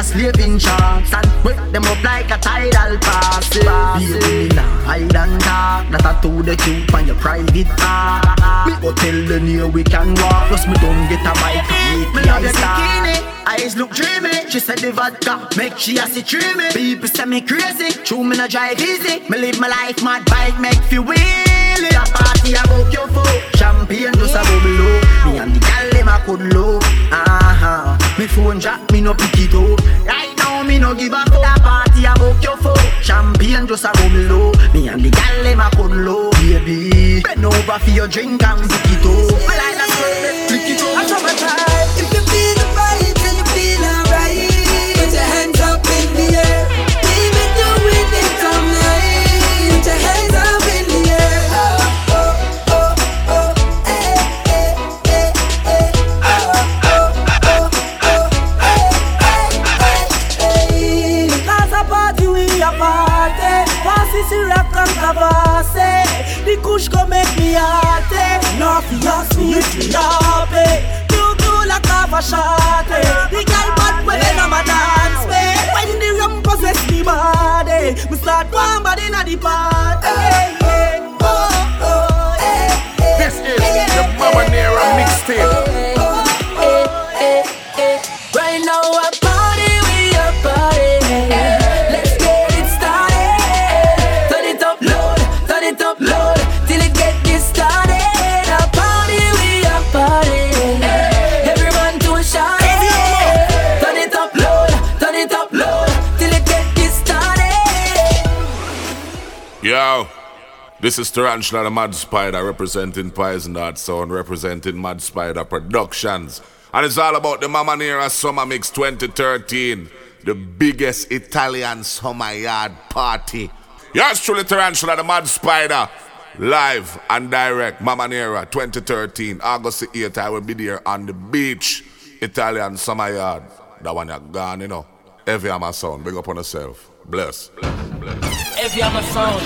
Speaker 21: slaving shots and wake them up like a tidal pass. Baby, hide and talk. That I told the cute on your private part. Me go tell the near we can walk. Plus me don't get a bike. Me love your bikini. Eyes look dreamy. She said the vodka make she assy dreamy. People say me crazy. True me no drive easy. Me live my life mad bike make feel wheelie. A party about your foot. Champagne just a bubble low. Me and the gal them a could low. Me phone drop me no pick it up. Right now me no give a fuck. A party about your foot. Champagne just a bubble low. Me and the gal them a could low. Baby bend over for your drink and pick it up. I like that sweat, pick it up. I try my time.
Speaker 7: If you feel the vibe and you feel alright, put your hands up in the air. Even though we think I'm nice, put your hands up in the air. Oh, oh, oh, oh, eh, eh, eh, eh. Oh, oh, oh, oh, eh, eh, eh. Because a party we a party. Passy Sirac and Kavase. The kush go make me hearty. No fias me if you happy. Like a shot, the girl bad when I'm a dance way. When the rum possess the body, we start one body in the party.
Speaker 22: This is the Mama Nera mixtape.
Speaker 8: Right now a party, we a party. Let's get it started. Turn it up loud, till it get this started. A party, we a party.
Speaker 22: Yo, this is Tarantula the Mad Spider representing Poison Dart Sound, representing Mad Spider Productions. And it's all about the Mama Nera Summer Mix 2013, the biggest Italian summer yard party. Yours truly, Tarantula the Mad Spider, live and direct, Mama Nera 2013, August the 8th, I will be there on the beach, Italian summer yard. That one you're gone, you know. Heavy on my sound, big up on yourself. Bless.
Speaker 10: Heavy on my sound.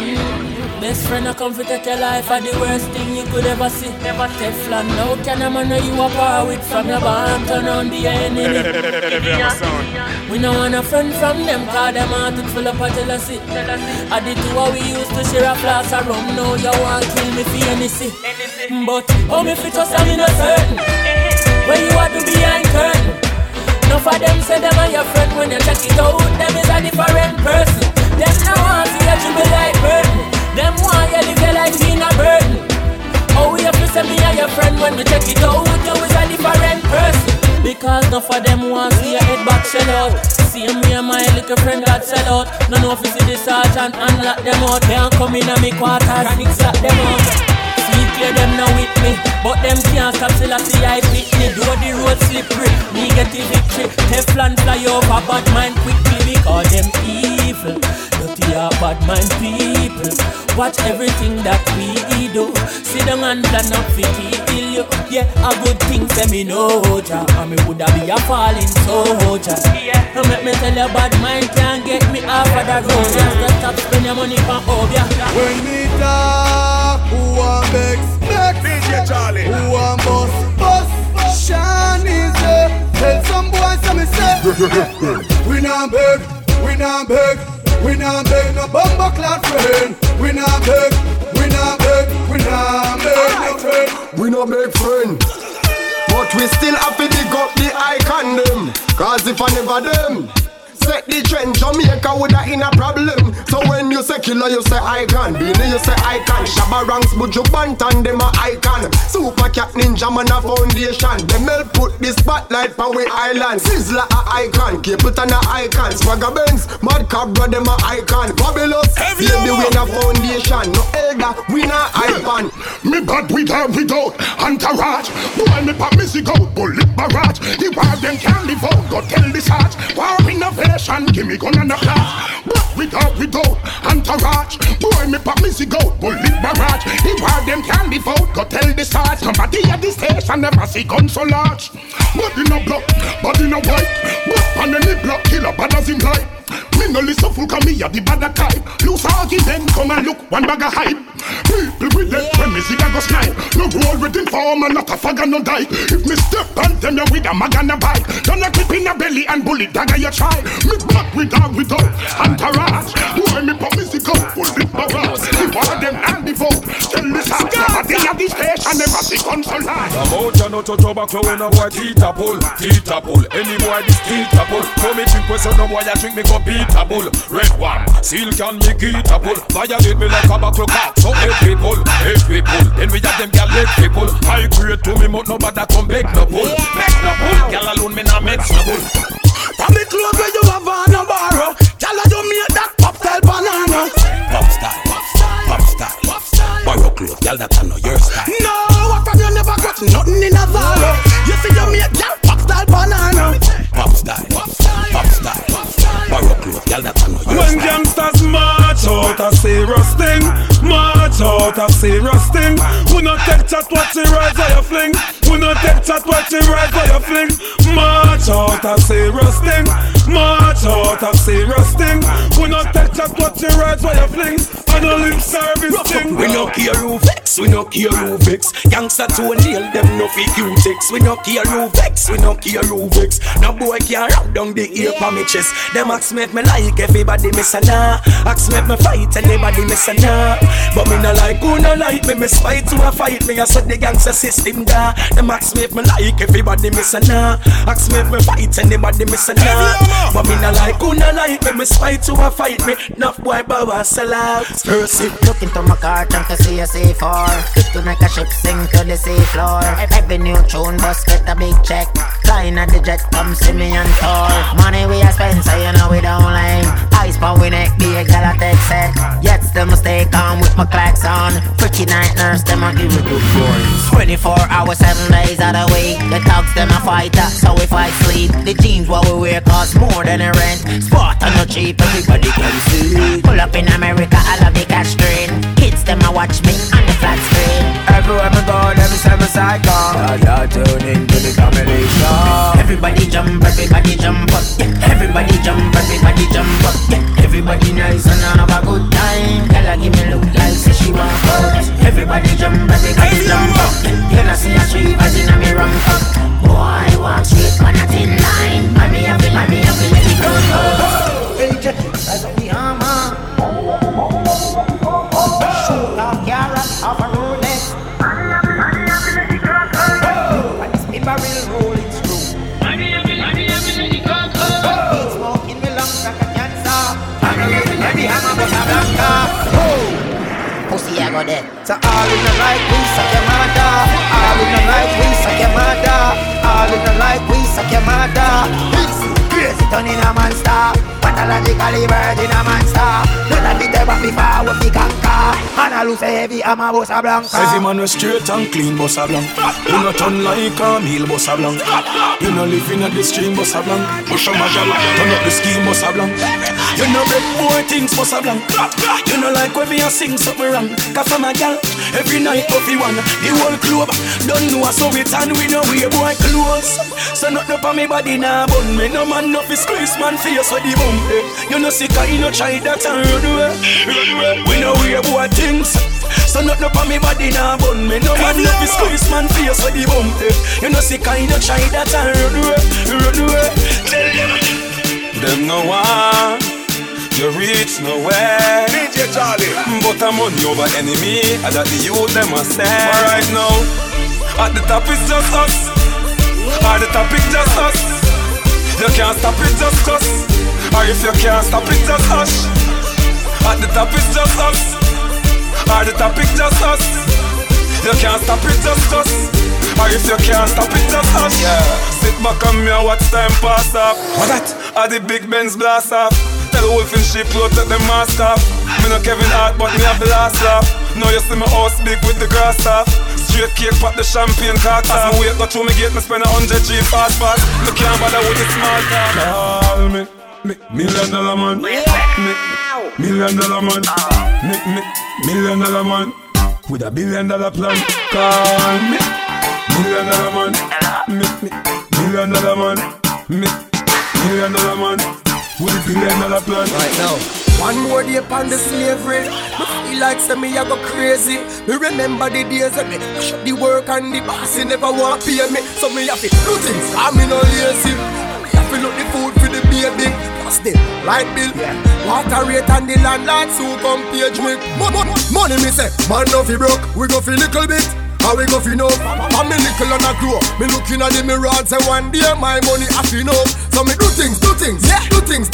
Speaker 10: Best friend, I come to take your life are the worst thing you could ever see. Never Teflon, no can a man know you a power with from your barn, turn on the enemy.
Speaker 22: Heavy on my sound.
Speaker 10: We no want a friend from them, cause them heart is full of jealousy. I the two we used to share a flask of rum, now you want kill me for anything. But how me fit just I'm no certain. When you are to behind curtain. Enough of them say them are your friend. When you check it out, them is a different person. Them no want to let you be like burden. Them want you live your life in a burden. Oh, we have to say me are your friend. When we check it out, you is a different person. Because enough of them want to see your head back shell out. Same way my little friend got sell out. No know if you see the sergeant and lock them out. They don't come in a me quarters and exact them out. Clear them now with me, but them can't stop till I see I pick me. Do the road slippery, me get the victory. Teflon fly over bad mind quickly because them evil. Dirty are bad mind people. Watch everything that we do. See them and plan up for kill you. Yeah, a good thing say me know ja. And me woulda be a falling soldier. Yeah, make me tell you bad mind can't get me off of the road. Just stop spend your money for Obia.
Speaker 23: When me talk, who want vex?
Speaker 22: DJ Charlie.
Speaker 23: Who want bus? Sean is there. Tell some boys so me say. We not beg, we not beg. We not beg no bumper clad friend. We not beg, we not beg, we not beg no friend.
Speaker 13: We not beg friend, but we still have to dig up the icon them. Cause if I never them set the trend, Jamaica woulda in a problem. So when you say killer, you say icon. Beanie, you say icon. Shabba Ranks, Buju Banton, them a icon. Super Cat Ninja Man a foundation. Them help put the spotlight on we island. Sizzler a icon, Capleton a icon. Swagger Benz, Mad Cabra, them a icon. Fabulous, baby we na foundation. No elder, we na icon.
Speaker 3: Me bad with or without entourage. Boy me pop me zig out, bullet barrage. The war them can't live out, go tell the sarge. War innovation, give me gun and a class. But without entourage. Boy me pop me zig out, bullet barrage. The war them can't live out, go tell the sarge. Somebody at the station never see gun so large. Body no block, body no white. But on any block, killer bad as him like. Me no listen full cause me a the bad type. Loose argument. party then come and look, one bag of hype. People will let when music a go snipe. No roll with informer, not a fag and no die. If me step on them, you with a mag and a bike. Don't you clip in a belly and bullet dagger you try. Me back without entourage. Boy, me pop music up, full big barrage. The war them and the vote. Tell me something, but they have the station, never see console line.
Speaker 1: About you not to tobacco when a boy teeth a pull. Any boy this teeth a pull. Come me drink with no boy I drink me go beat a bull. Red one, seal can me get a pull. Violate me like a buckle cock. So eight people. Then we have them gal leg people. I create to me but nobody come beg no bull. Beg no bull, gal alone me nah mix no bull.
Speaker 21: From the clothes where you have on a borrow, gal do me that pop style banana.
Speaker 1: Pop style. Borrow clothes, gal that I know your style.
Speaker 21: No, what from you never got nothing in a Zara. You see you make gal pop style banana.
Speaker 1: Pop style. Borrow clothes, gal that I know your
Speaker 15: when
Speaker 1: style.
Speaker 15: gangsters march out a serious thing, we not take chat what you ride for your fling. We not take chat what you ride for your fling. March out a serious thing, we not take chat what you ride for your fling. And a lip service thing.
Speaker 21: We no care who vex, we no care who vex. Gangsta to nail them no fake you text. We no care who vex, No boy can rap down the ear for me chest. Them ask me if me like everybody miss a nah. Ask me if me fight anybody miss a nah. But me no like who no like me spite to a fight me. I said the gangsta system da. Them ask me if me like everybody miss a nah. Ask me if me fight anybody miss a nah. But me no like who no like me spite to a fight me. Enough boy bow sell out.
Speaker 9: Look into my car, trying to see a C4. Just to make a ship sink to the sea floor. Every new tune bus get a big check. Flying at the jet, come see me and tour. Money we a spend, so you know we don't lame. Ice pound we neck, be a gal a take set. Yet still me stay calm with my clacks on. Freaky night nurse, them a give me good boys. 24 hours, 7 days out of the week. The dogs them a fight, so if I sleep. The jeans what we wear cost more than a rent. Sport and no cheap, everybody can see. Pull up in America, I love the cash train. Kids them a watch me on the flat screen.
Speaker 21: Everywhere me go, every time I go, I tune into the comedy show.
Speaker 9: Everybody jump up, yeah. Everybody jump up, yeah.
Speaker 21: Everybody nice and I have a good time.
Speaker 9: Girl, I give me look like say she want fuck. Everybody jump up, yeah. You know see a street as in a me rum up. Boy, walk straight on a thin line. Mommy, I feel let it go. As we hammer. Shoot off carrot off a Rolex. And it's paper will roll it through. Heat smoking me lungs like a cancer. Let me hammer but a blanca. Pussy I go there.
Speaker 21: So all in the right we suck your mother. All in the right we suck your mother. All in the right we suck your mother. Crazy turn in a monster. Pathologically bird in a monster. None of it ever before we fi conquer. And I lose heavy, I'm a bossa blanca.
Speaker 1: Every man was straight and clean, bossa blanc. You not turn like a meal, bossa blanc. You not live in the stream, bossa blanc. Push on my gal, turn up the scheme, bossa blanc. You know break more things, bossa blanc. You know like when me a sing something wrong. Cause for my gal, every night Puffy one. The whole club don't know so it and we know we boy close. So not up on me body now, bun me no man no fi squeeze man face with the bum. You know sick you no try that and run away. We know we boy things. So not up on me body now, bun me no man no fi squeeze man face with the bum. You know sick you no try that and run away. Tell them no one. You reach nowhere,
Speaker 3: DJ Charlie.
Speaker 1: But I'm money over enemy, and that the youth them must stand. But right now, at the top it's just us. At the top it's just us. You can't stop it just us. Or if you can't stop it just us. At the top it's just us. At the top it's just us. You can't stop it just us. Or if you can't stop it just us. Yeah. Sit back on me and watch time pass up. What that? At the big Benz blast off. Tell Wolf in sheep clothes that them mask off. Me no Kevin Hart but me have the last laugh. Now you see my house big with the grass off. Straight cake pop the champagne cock off. As me wait go through me gate me spend 100 G fast. Me can't bother with the small talk. Call me $1 million man. Me $1 million man. Me $1 million man. With $1 billion plan. Call me $1 million man. Me $1 million man. Me $1 million man. With $1 billion plan.
Speaker 21: Right now,
Speaker 13: One more day upon the slavery. Me feel like say me I go crazy. Me remember the days when me shut the work and the boss he never want pay me. So me have to do things, I'm no lazy. Me have to look the food for the baby. Plus the light bill, water rate and the landlord so come page me. Money me say, man no fi broke, we go fi little bit. How we go fi know? I'm a little and I grow. Me looking at the mirror and say one day my money I fi know. So me do things, yeah. Do things,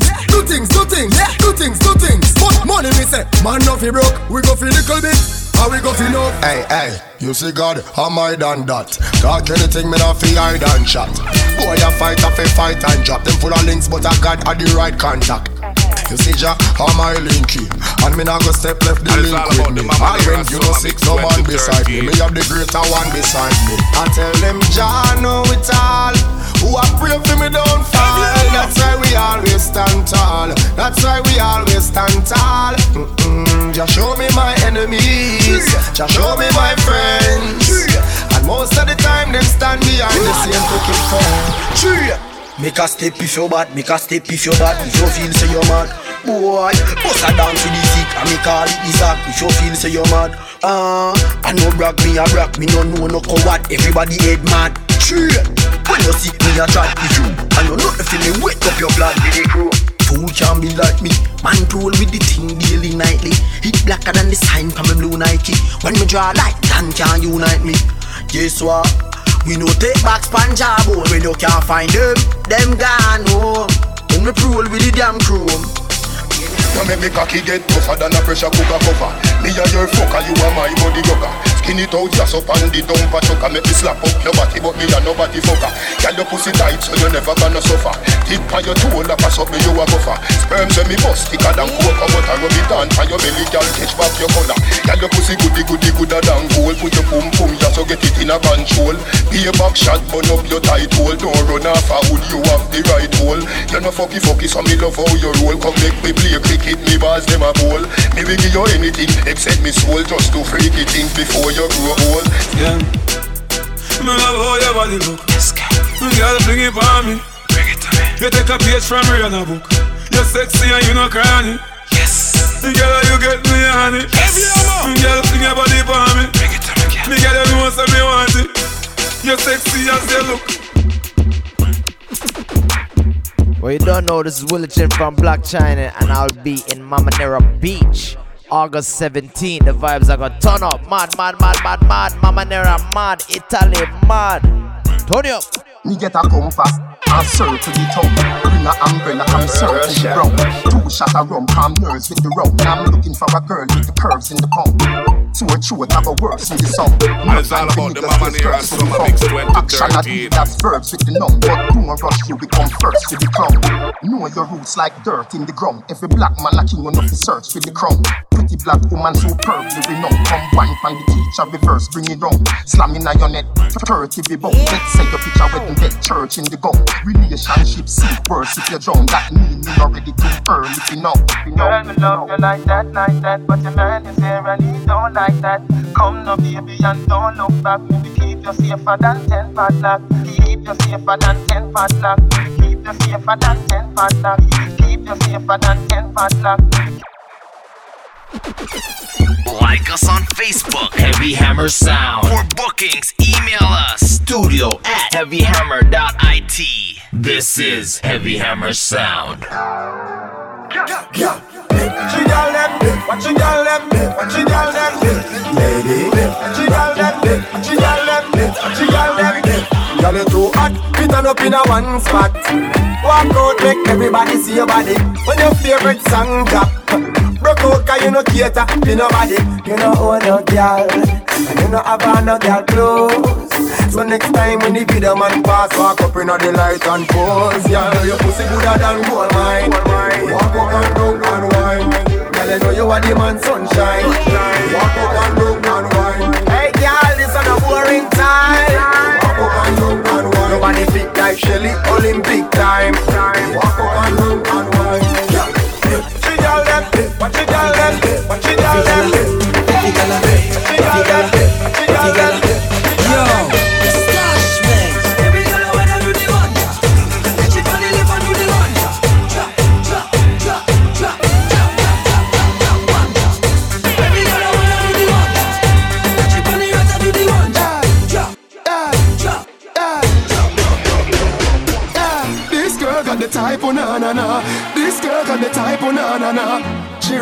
Speaker 13: yeah. Money me say, man no fi broke, we go fi little bit. How we go fi know?
Speaker 12: Hey, you see God, am I done that? Talk anything me not fi hide and chat. Boy a fight and drop. Them full of links but I got at the right contact. You see Jack, how my linky, and me not go step left the link with me. I when you know sick, no man beside me. Me have the greater one beside me. I tell them Jah know it all. Who I pray for me don't fall. That's why we always stand tall. That's why we always stand tall. Just show me my enemies. Just show me my friends. And most of the time them stand behind the same fucking phone.
Speaker 21: Make a step if you're bad, make a step if you're bad. If you feel say you're mad, boy, bust a down to the sick and me call it the sack. If you feel say you're mad, I know brag me a brag, me no know no coward. Everybody head mad. When you see me a chat with you, and you know the feeling wake up your blood with the crew. Fool can't be like me, man roll with the thing daily nightly. Hit blacker than the sign from my blue Nike. When me draw light, Dan can't unite me. Guess what? We no take back Punjab when you can't find them gone home. When we roll with the damn chrome.
Speaker 19: You make me cocky get tougher than a pressure cooker cover. Me a your fucker, you are my body rocker. Skin it out, just up on the dumper chucker. Make me slap up your body, but me a nobody fucker. Girl, your pussy tight, so you never gonna suffer. Tip on your toe, like pass up me, you a buffer. Sperms when me bust, thicker than cocoa butter. Rub it on for your belly, girl, catch back your collar. Girl, your pussy gooder than gold. Put your pum just so get it in a control. Be a back shot, burn up your tight hole. Don't run off a hood, you have the right hole. You're no fucky, so me love how you roll. Come make me play cricket, me bars them a bowl. Me will give you anything except me soul, just to freak it in before you grow old.
Speaker 1: Yeah, me love how your body look. Me girl bring it for me. You take a page from Rihanna book. You're sexy and you no cranny. Yes. Me girl you get me honey. Me girl bring your body for me. Me girl you know so me want it. You're sexy as you look.
Speaker 4: Well, you don't know, this is Willie Chin from Black China, and I'll be in Mamanera Beach, August 17th. The vibes are gonna turn up. Mad. Mamanera mad. Italy mad. Turn up.
Speaker 12: Me get a compass and circle the tongue. Bring a umbrella and circle the brown. 2 shots of rum, calm nerves with the rum. I'm looking for a girl with the curves in the palm. To a truth, have a words in the song.
Speaker 22: And it's all about the Mamanera Summer Mix 2013.
Speaker 12: That's verbs with the numb. But don't rush, you become first with the crown. Know your roots like dirt in the ground. Every black man like king enough to search for the crown. Pretty black woman superbly renowned. Come wine from the teacher, reverse, bring it down. Slamming on your neck, 30 be bone. Let's say your picture wedding get church in the gun. Relationship seek worse if you're drowned. That mean you're ready to earn if you know.
Speaker 6: Girl, me love you like that. But your man is here and he don't like that. Come no baby and don't look back. Maybe keep you safer than 10 padlock. Keep you safer than 10 padlock. Keep you safer than 10 padlock. Keep you safer than 10 padlock.
Speaker 2: Like us on Facebook, Heavy Hammer Sound. For bookings, email us, studio@heavyhammer.it. This is Heavy Hammer Sound.
Speaker 23: What you got them? What you got them? What you got them? Lady, what you got them? What you got them? What you got them? Girl, you too hot, we turn up in a one spot. Walk out, make everybody see your body. When your favorite song drop, broke out 'cause you no cater to nobody. You no own no girl, and you no have no girl clothes. So next time when the video man pass, walk up in the light and pose. Yeah, your pussy gooder than gold mine. Walk up and down and wine. Girl, you know you are the man sunshine. Walk up and down and wine. Hey girl, this is a boring time. Walk up and down and wine. Nobody fit like Shelly, Olympic time. Walk up and down and wine. What you got them? What you got them? What you got them? What you got them? What you got them? Yo.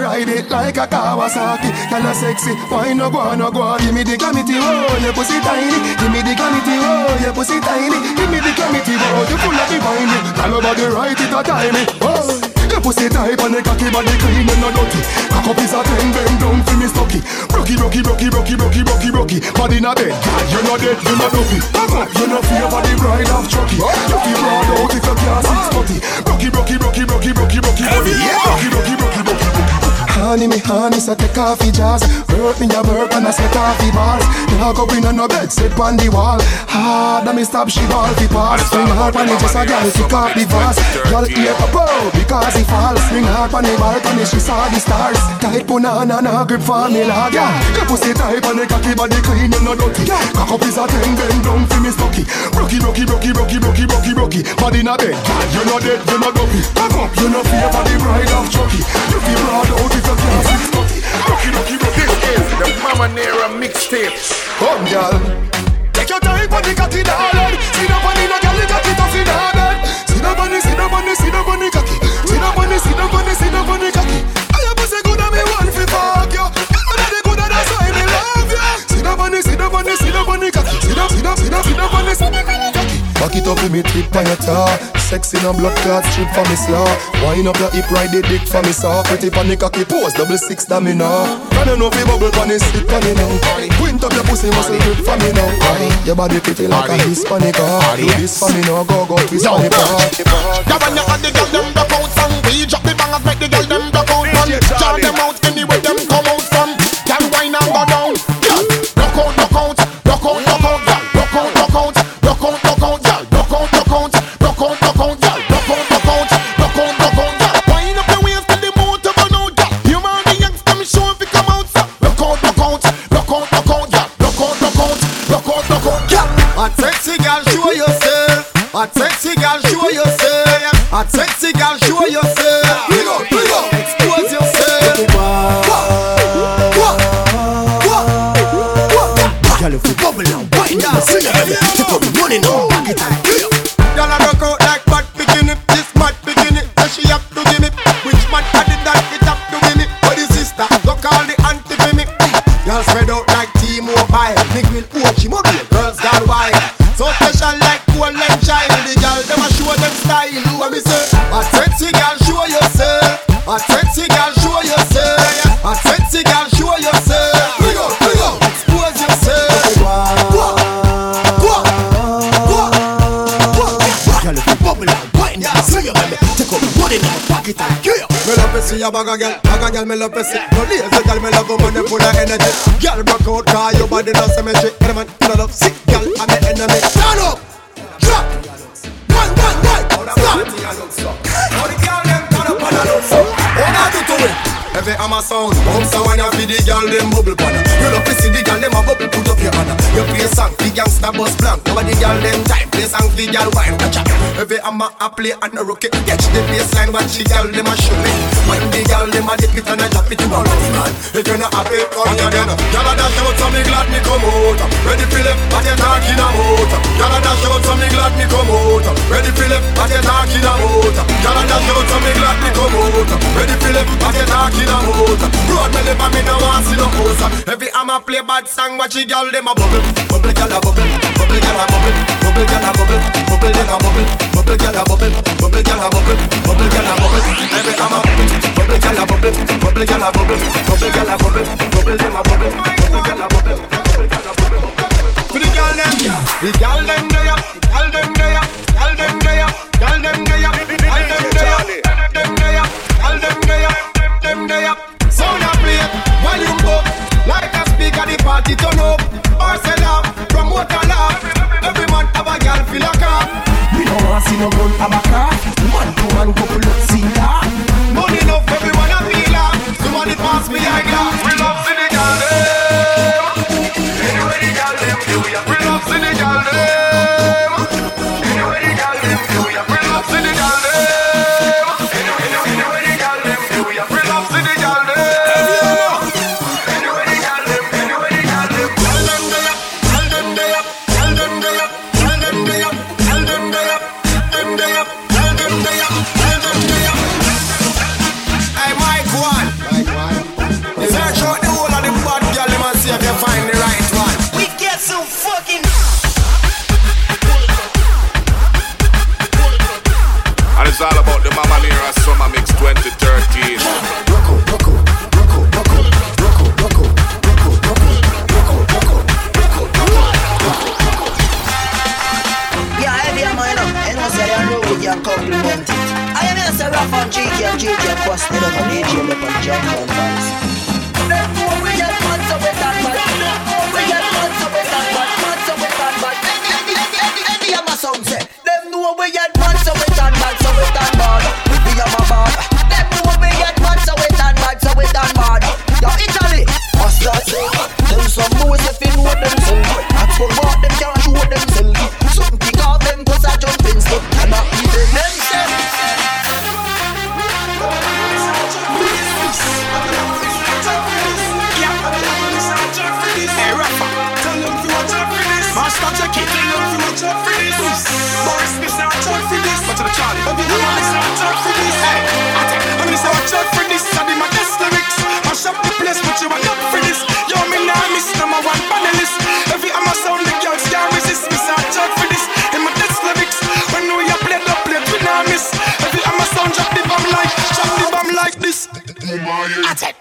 Speaker 23: ride it like a Kawasaki. Girl a sexy, why no go, no go. Give me the glamity, oh, your pussy tiny. Give me the glamity, oh, your pussy tiny. Give me the glamity, oh, you full of divine. Girl over the right, it a timey, oh. Your pussy tight and the cocky body clean and no dirty. Cock up is a 10, bend down for me stocky. Rocky, rocky, rocky, rocky, rocky, rocky, rocky. Body in a bed, girl, you're not dead, you're not dopey. Cock up, you're not fear for the bride of Chucky. You feel broad out if you can't 640. Rocky, rocky, rocky, rocky, rocky, rocky, body. Rocky, rocky, rocky, rocky, rocky. Honey, me honey, so take off your jaws. Work me a work and I set off the balls. Now go in on no bed, sit on the wall. Hard, and me stop, she ball the pass. Swing hard when it just a girl, kick off the vase. Girl, ear up, oh, because he falls. Swing hard when the balcony, she saw the stars. Tight banana, no grip for me, lad. Yeah, your pussy tight and the cocky body clean and no dirty. Cock up is a 10, bend down for me stocky. Rocky, rocky, rocky, rocky, rocky, rocky, rocky. Body in a bed, girl, you're not dead, you're not dopey. Cock up, you're not fear for the bride of Chucky. You feel broad out if you can't 640. Rocky, rocky, rocky. This is the Mama Nera mixtape. Come, girl. Take your time on the cocky, darling. See the bunny, no girl, the cocky tough in her bed. See the bunny, see the bunny, see the bunny cocky. See the bunny, see the bunny, see the bunny cocky. I have pussy good and me want fi fuck you. You know the good and that's why me love you. See the bunny, see the bunny, see the bunny cocky. See the bunny, see the bunny, see the bunny cocky. Back it up with me tip on your tar. Sexy no blood clot strip for me slaw. Wind up your hip, ride the dick for me saw. Pretty pan the cocky pose, 6 stamina. Can you know fi bubble pan it, sit pan it now. Quint up your pussy muscle grip for me now. Your body pretty like a Hispanic. Do this for me now, go twist for me part.
Speaker 5: Yeah, when you had the girl them block out song, we drop the bangers, make the girl them block out man. Jar them out anywhere them come out from. Girl wine and go down. Girl, block out, block out, block out, block out, girl, block out, block out, block out, block out, girl, block out, block out, block out, block out, girl, block out, block out, block out, block out, girl. Wind up your waist till the motor burn out, girl. You man the youngster me show if you come out, sir. Block out, block out, block out, block out, girl, block out, block out, block out, block out, girl. A sexy girl, show yourself. A sexy girl, show yourself. A sexy girl, show yourself. Big up, expose yourself. Girl, if you bubble now, wind down, sing it, baby. Take up the money now, back it and kill you. Girl, I rock out like mad bikini. This mad bikini, so she have to give me. Which man added that it have to give me? For the sister, go call the auntie for me. Girl spread out like T-Mobile. Big will watch him up, girls gone wild. So special like cool and child. The girl, them a show them style. You what me say? A sexy girl, show yourself. A sexy girl, show yourself. A sexy girl, show yourself. Big up, expose yourself. Girl, if you bubble and wine, yeah, swing your baby. Take up the money now, pocket and kill you. Me love to see a bag of girl, me love to see. No lazy girl, me love a money full of energy. Girl, rock out, cause your body no symmetry. Any man, you love sick girl, I'm the enemy. Stand up, drop, one, stop. All the girl them turn up and I look so. All I do to it. Every hammer sound, bounce a when you feed the girl them bubble pan. You love to see the girl them a bubble, put up your hand. You play song, the gangsta bus blank. Over the girl them time, play song, the girl wine. Every hammer a play and a rocket. Catch the baseline, watch the girl them a show me. When the girl them a dip it and a drop it, you a running man. If you're not happy, come here then. Girl a dash out, so me glad me come out. Ready for left, what you talking about? Girl a dash out, so me glad me come out. Ready for left, what you talking about? Girl a dash out, so me glad me come out. Ready for left, what you talking about? Road me live and me no want see no house. Every hammer play bad song, watch the girl them a bubble. Bubble girl a bubble, bubble girl a bubble, bubble girl a bubble, bubble girl a bubble, bubble girl a bubble, bubble girl a bubble, bubble girl a bubble. Every hammer bubble girl a bubble, bubble girl a bubble, bubble girl a bubble, bubble them a bubble, bubble girl a bubble, bubble girl a bubble. For the girl them, the girl them there, girl them there, girl them there, girl them there, girl them there, them there, girl them there. Them there, sound a play, volume up, like a speaker the party turn up. Barcelona, promote a laugh. Every man have a girl feel a car. We don't want see no gun have a car. Man to man couple look see that. Money enough, everyone a feel that. Somebody pass me a glass. We love see the girl them. Anyway the girl them do ya. We love see the girl them. Anyway the girl them do ya. We love see the girl them. Anyway the girl them do ya.
Speaker 21: jungle vibes. Therefore we get mad so we can bad. We get mad so we can bad. Mad so we can bad. Any of my sound say. Them know we get mad so we can bad. So we can bad. We are my bad. Them know we get mad so we can bad. So we can bad. Yo Italy, what's that say? Them some boys if you know themselves. That's what them can't show themselves. Some kick off them cause I jump in stuff. And not even themselves.
Speaker 11: Hey rapper, tell them to watch out for this. Master Jackie, tell them to watch out for this. Boris, this not watch out for this. Watch out Charlie, this not watch out for this. Hey, I'm gonna say watch out for this. I did my best lyrics. Mash up the place, but you want up for this. Yo, me now miss number one panelist. Every I'ma sound the girls can't resist. Me say watch out for this. In my best lyrics, when we a play the plate, we now miss. Every I'ma sound drop the bomb like this. Attack.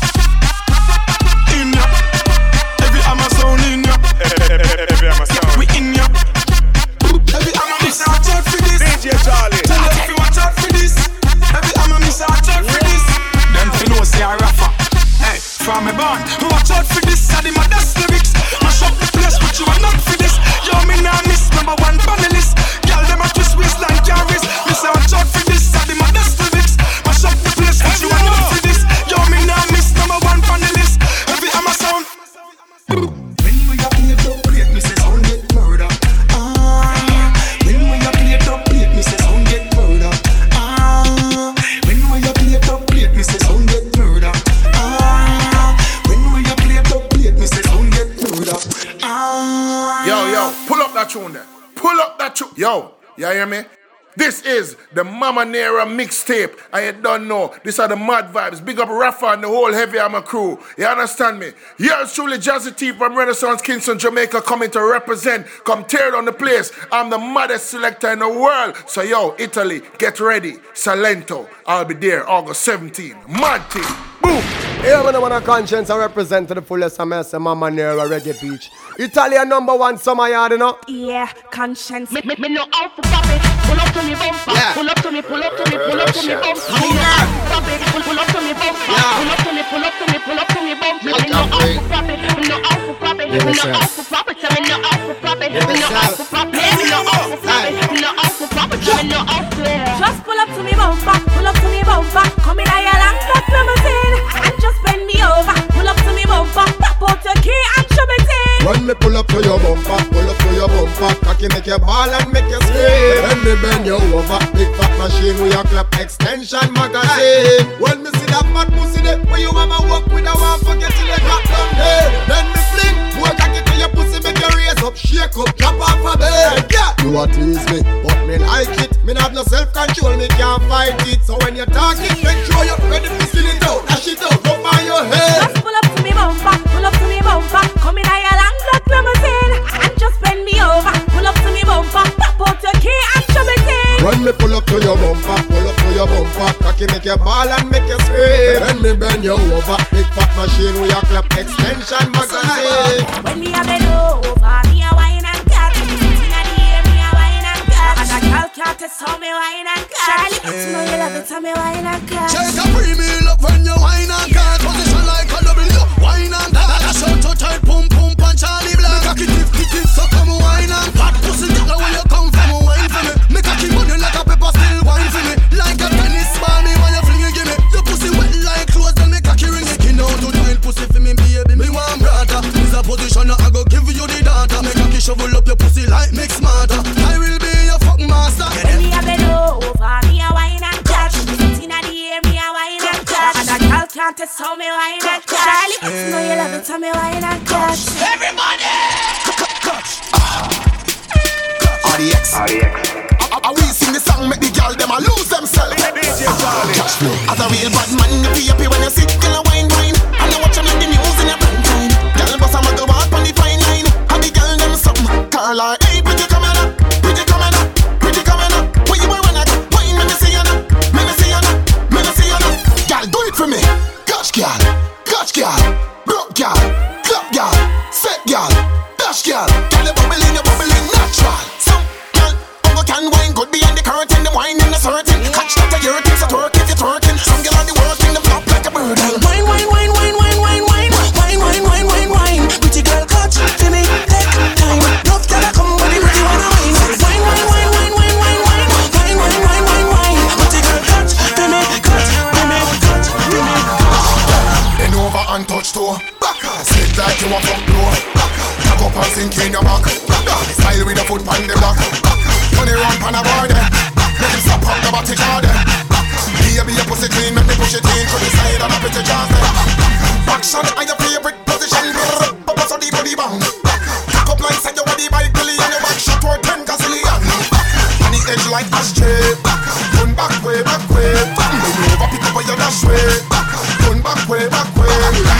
Speaker 11: In ya. Every I'ma sound in ya. Every I'ma sound. We in ya. Every I'ma miss watch out for this. DJ Charlie. Tell them to watch out for this. Every I'ma miss watch out for this. Them fi know say I rapper. Hey, from me born, watch out for this. I did my best lyrics. Mash up the place, but you are not for this. Yo, me now miss number one panelist. Girl, them a twist waistline carries. Me say watch out for this. I did my best lyrics. Mash up the place, but you are not for this. Yo, me now miss number one panelist. Every I'ma sound.
Speaker 21: When we a play top plate, me say sound get murder. When we a play top plate, me say sound get murder. When we a play top plate, me say sound get murder. When we a play top plate, me say sound get murder.
Speaker 12: Yo, pull up that tune there. Pull up that tune. Yo, you hear me? This is the Mama Nera mixtape. I don't know. These are the mad vibes. Big up Rafa and the whole Heavy Armor crew. You understand me? Yours truly, Jazzy T from Renaissance Kingston, Jamaica, coming to represent. Come tear down the place. I'm the maddest selector in the world. So yo, Italy, get ready. Salento, I'll be there August 17. Mad team. Boom.
Speaker 5: Yeah, man, I want a conscience and represent to the fullest of my Mama Nera Reggae Beach. Italian #1 summer yard, you know?
Speaker 16: Yeah, conscience. Me know how to pop it. Pull up to me bumper. Yeah. Pull up to me, pull up to me, pull up to me bumper. Pop it, pull up to me bumper. Yeah. Pull up to me, pull up to me, pull up to me bumper. Me know how to pop it. Me know how to pop it. Me know how to pop it. Me know how to pop it. Me know how to pop it. Me know how to pop it. Me know how to pop it. Me know how to. Just pull up to me bumper. Pull up to me bumper. Come in a long black limousine and just bend me over. Pull up to me bumper. Pop out your key and shove it in.
Speaker 13: When me pull up to your bumper, pull up to your bumper, cocky make you ball and make you scream. When me bend you over, big fat machine with your clap extension magazine. When me see that fat pussy there, where you mama walk with a one forget till you drop down there. Then me fling, more cocky to your pussy, make you raise up, shake up, drop off a bed. Yeah, you a tease me, but me like it. Me have no self-control, me can't fight it. So when you talk it, make sure you're ready to seal it out, dash it out, go by your head.
Speaker 16: Just pull up to me bumper, pull up to me bumper, come in a long black limousine and just bend me over. Pull up to me bumper, pop out your key and shove it in.
Speaker 13: When me pull up to your bumper, pull up to your bumper, cocky make you ball and make you scream. When me bend you over, big fat machine with your clap extension magazine.
Speaker 16: When me a bend over, me a wine and cut. Inna the air, me a wine and cut. And a girl can't test how me wine and cut. Charlie, it's no you love it, how me wine and cut.
Speaker 21: Shake a free meal up when you wine and cut. Position like a W, wine and cut. That's how to tight, pum pum punch Charlie Black. Make a kick, so come wine and cut. Pussy nigga where you come from, wine for me. Make a keep money like a pepper, still wine for me. Like a tennis ball, me when you fling it, give me. Your pussy wet like clothes, then make a key ring it. You know to tight pussy for me, baby. Me want brother. Is a position I go give you the data. Make a key shovel up your pussy like mix smarter. I will be your fuck master.
Speaker 16: When me a bend over, me a wine and catch. Inna the air, me a wine and catch. And a girl can't test how me wine and catch. Charlie, it's no you love it, how me wine and catch.
Speaker 21: Everybody! RDX. I we sing the song, make the girl them a lose themselves. Cash flow. As a real bad man, you be happy when you sit in a wine. And you watch them like the news in a prime time. Girl boss a muggle walk on the fine line. And the girl them something. Call her, hey, pretty coming up, pretty coming up, pretty coming up. Where you were when I got wine, let me see you now, let me see you now, let me see you now. Girl, do it for me. Catch girl, broke girl, club girl, set girl, dash girl. Girl, you bubbling natural. Some girl, can wine good behind the curtain. The wine in the certain. Catch that you're so twerk if you're twerking. Some girl on the working, them flop like a bird.
Speaker 17: touch toe. Slip like you a fuck blow. Tag up and sink in your back. Style with a foot on the block. Money run pan a boy there. Make him stop up the body jar there. Baby your pussy clean, make me push it in to the side and a pretty jazz there. Action are your favorite position. Papa so the body bang. Tag up like say you body by Billy and your back shot toward 10 gazillion. On the edge like ashtray. Turn back way, back way. Never pick up on your dash way. Turn back way, back way.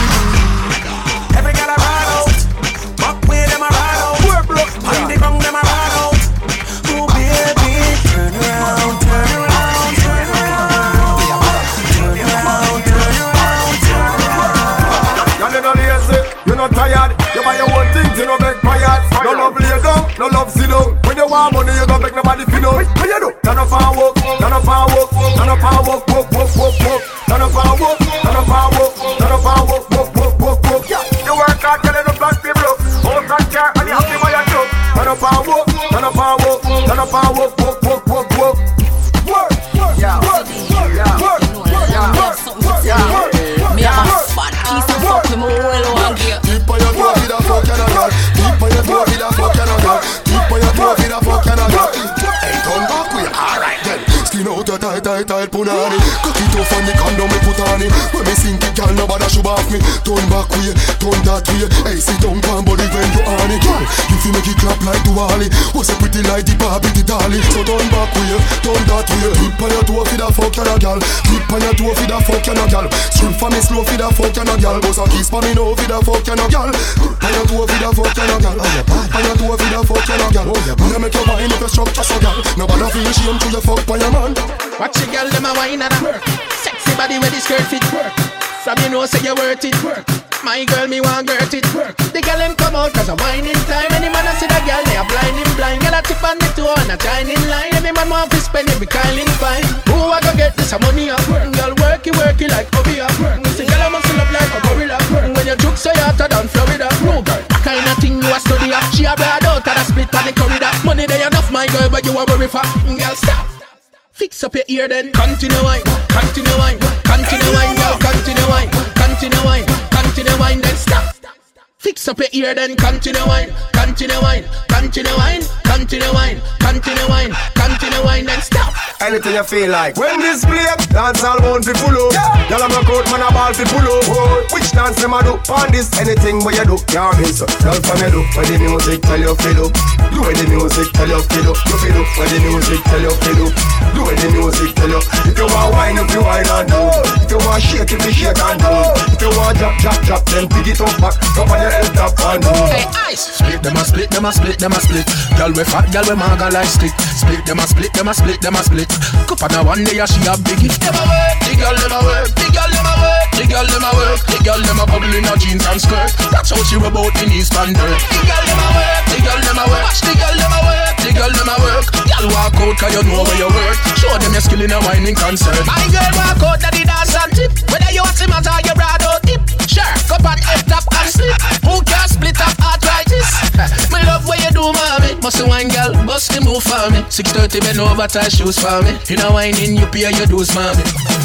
Speaker 2: Every girl I ride out, back way them I ride out. On the ground them I ride out. Oh baby, turn around, turn around, turn around, turn around, turn around, turn around.
Speaker 17: You're not lazy, you're not tired. You buy your own things, you don't make tired. No love lay down, no love sit down. When you want money, you don't make nobody feel out. What you do? Turn up and walk, turn up and walk, turn up and walk, walk, walk, walk, walk. Turn up and walk, turn up and walk, turn up and walk, walk, walk, walk, walk. You work hard, get enough black people. House and car, and you have to buy your truck. Turn up and walk, turn up and walk, turn up and walk, walk, walk, walk, walk. Work, yeah, work, yeah, work, yeah, work, yeah, work.
Speaker 8: Me have a fat piece of fuck with my whole one gear.
Speaker 17: Keep on your toe with a fuck and a girl. Keep on your toe with a fuck and a girl. Keep on your toe with a fuck and a girl. Hey, turn back with alright then. Skin out your tight, tight, tight punani. Cock it off and the condom me put on it. When me sink it, girl, nobody should off me. Turn back way, turn that way. Hey, sit down, pan body when you on it. Girl, if you make it clap like Duali, what's a pretty like the Barbie, the dolly. So turn back way, turn that way. Keep on your toe with a fuck and a girl. Keep on your toe with a fuck and a girl. Swim for me slow with a fuck and a girl. Boss a kiss for me now with a fuck and a girl. On your toe with a fuck and a girl. On your toe with a fuck and a girl. Wanna make your mind up your structure so girl. Nobody feel shame to your fuck by your man.
Speaker 18: Watch your girl, them a wine and a work. Sexy body with the skirt fit work. From you know say you worth it work. My girl, me want girt it work. The girl them come out cause I'm whining time. Any man a see the girl, they are blinding blind. Girl a tip on the toe and a shining line. Every man want to spend every kindling fine. Who I go get this money up? Girl work it like hobby up. See girl I muscle up like a gorilla. When you juke so you hotter than Florida. No girl, that kind of thing you a study up. She a brad out of the split on the corridor. Money they enough my girl but you a worry for. Girl stop. Fix up your ear then. Continue wine, continue wine, continue wine, girl, continue wine, continue wine, continue wine, then stop. Fix up your ear then. Continue wine, continue wine, continue wine, continue wine, continue wine, continue wine, then stop.
Speaker 17: Anything you feel like. When this play, dance all bound fi pull up. Y'all am a coat, man a ball fi pull up. Which dance them a do? On this, anything where you do, can't miss up. Girl from you do, when the music tell you fi do. Do when the music tell you fi do. You fi do, when the music tell you fi do. Do when the music tell you. If you want wine, if you wine and do. If you want shake, if you shake and do. If you want drop, drop, drop, then pick it up back. Drop on your head, drop and do.
Speaker 18: Hey, ice. Split them a split, them a split, them a split. Girl we fat, girl we maga like stick. Split them a split, them a split, them a split. Cup on a one day she a biggie. Them a work, the girl them a work, the girl them a work, the girl them a work, the girl them a bubble in her jeans and skirt. That's how she rub out in East London. The girl them a work, the girl them a work, watch the girl them a work, the girl them a work. Girl walk out 'cause you know where you work. Show them your skill in a whining concert. My girl walk out at the dance and tip. Whether you want him or you broad out tip. Sure, cup on head top and slip. Who can split up arthritis? Me love what you do, mommy. Must wine girl, bust the move for me. 6:30 bend over, tie shoes for me. You know whining, you pay your dues, mommy.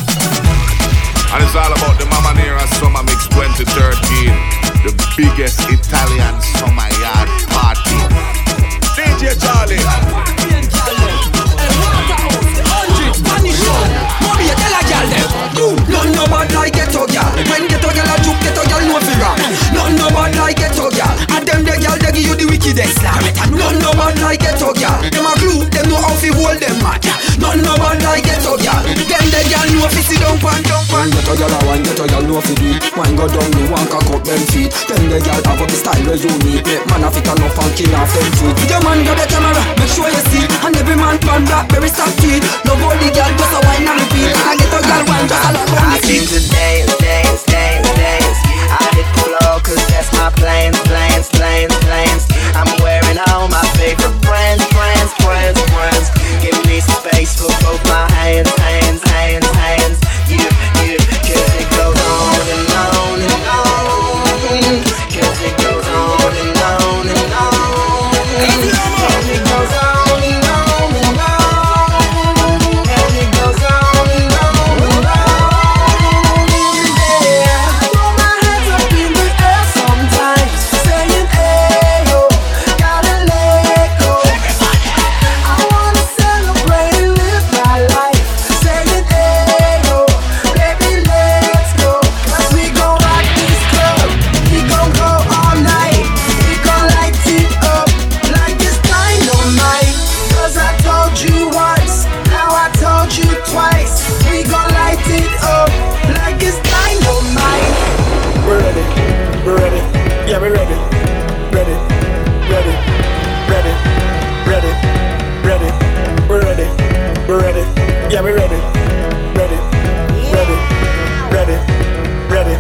Speaker 22: And it's all about the Mama Nera Summer Mix 2013, the biggest Italian summer yard party. DJ Charlie.
Speaker 20: Mommy, tell a girl them. None no bad like ghetto girl. When ghetto girl a juke, ghetto girl no fear. None no bad like ghetto girl. And them the girl they give you the wickedest slam. None no bad like ghetto girl. Them a glue, them know how fi hold them mad. None no bad like ghetto girl. Them the girl know fi sit down pan. One ghetto girl a one ghetto girl know fi do it. One go down, me one cock up them feet. Them the girl have up the style where you need. Make man a fit enough and kill off them feet. Your man got the camera, make sure you see. And every man pan blackberry stock feet. No body girl just a wine and repeat. And get a girl one just a lot on the feet.
Speaker 24: I seem to dance, dance, dance, dance. I hit the floor 'cause that's my plans, plans, plans, plans. I'm wearing all my favorite brands, brands, brands, brands. Give me some space for both my hands, hands, hands, hands. You, 'cause it goes on and on and on. 'Cause it goes on and on and on. 'Cause it goes on and on and on. 'Cause it goes on and on and on.
Speaker 12: we ready. Ready, ready, ready, ready, ready. We're ready, we're ready. Yeah, we're ready. Ready, ready, ready, ready.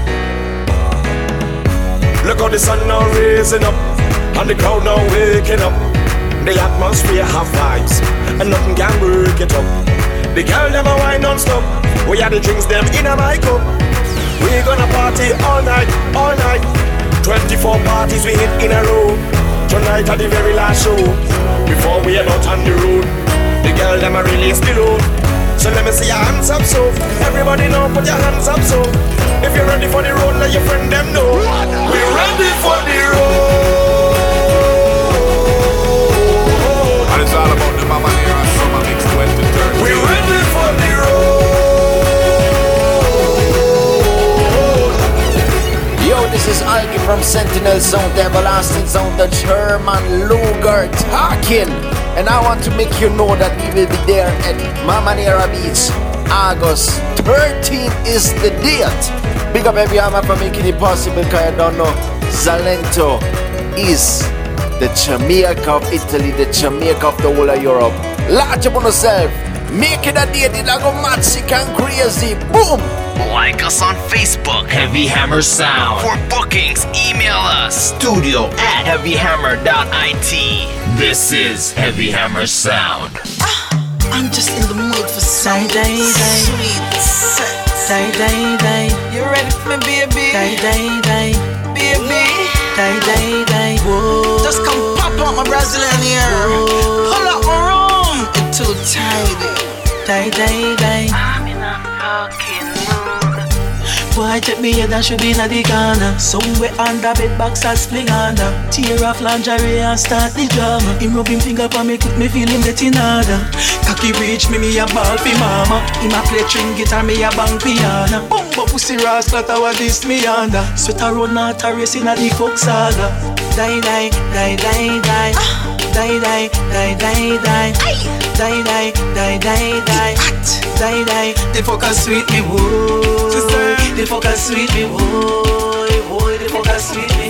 Speaker 12: Look how the sun now raising up, and the crowd now waking up. The atmosphere have vibes, and nothing can break it up. The girl never wine non-stop. We had the drinks them in a my cup. We gonna party all night, all night. 24 parties we hit in a row. Tonight at the very last show, before we head out on the road. The girl them a release the load. So let me see your hands up so. Everybody know, put your hands up so. If you're ready for the road, let your friend them know. We're ready for the road.
Speaker 22: And it's all about the Mama Nera Summer Mix 2030.
Speaker 12: We're ready for the road.
Speaker 4: Yo, this is Alki from Sentinel Zone, the Everlasting Zone, the German Luger talking. And I want to make you know that we will be there at Mama Nera Beach. August 13th is the date. Big up every hammer for making it possible, because I don't know. Zalento is the Jamaica of Italy, the Jamaica of the whole of Europe. Large upon yourself. Make it a date, it'll go mad, sick and crazy. Boom!
Speaker 7: Like us on Facebook, Heavy Hammer Sound. For bookings, email us, studio@heavyhammer.it. This is Heavy Hammer Sound.
Speaker 8: I'm just in the mood for some sweet sex. Day. You ready for me, baby? Day. Baby. Day. Whoa. Just come pop on my Brazilian ear. Pull up my room. It's too tidy. Day. I'm in a fucking mood. Boy, take me head and should be in the corner. Somewhere under bed box and spling under. Tear off lingerie and start the drama. Him rub him finger for me, quick me feel him getting harder. Cocky reach me a ball for mama. Him a play string guitar, me a bang piano. Bumbo pussy rascal, that was this me under. Sweat a road, not a race in a the coke saga. Die. Die. The fucker sweet me, whoa. The fucker sweet me, whoa. The fucker sweet me.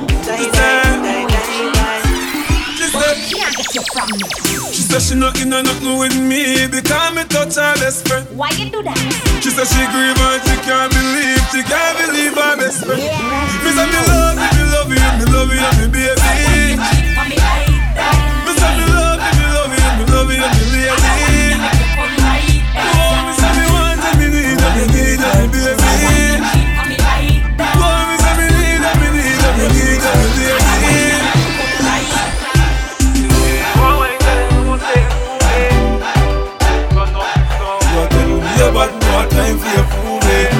Speaker 11: She said she not in a nothing with me because me touch her best friend.
Speaker 16: Why you do that?
Speaker 11: She said she grieve and she can't believe her best friend. Me say me love you, me baby. Me say me love you, me lady. Oh, me say me want and me need and me need and me baby. Oh, me say me need and me need and me need and me baby. But no time for your food.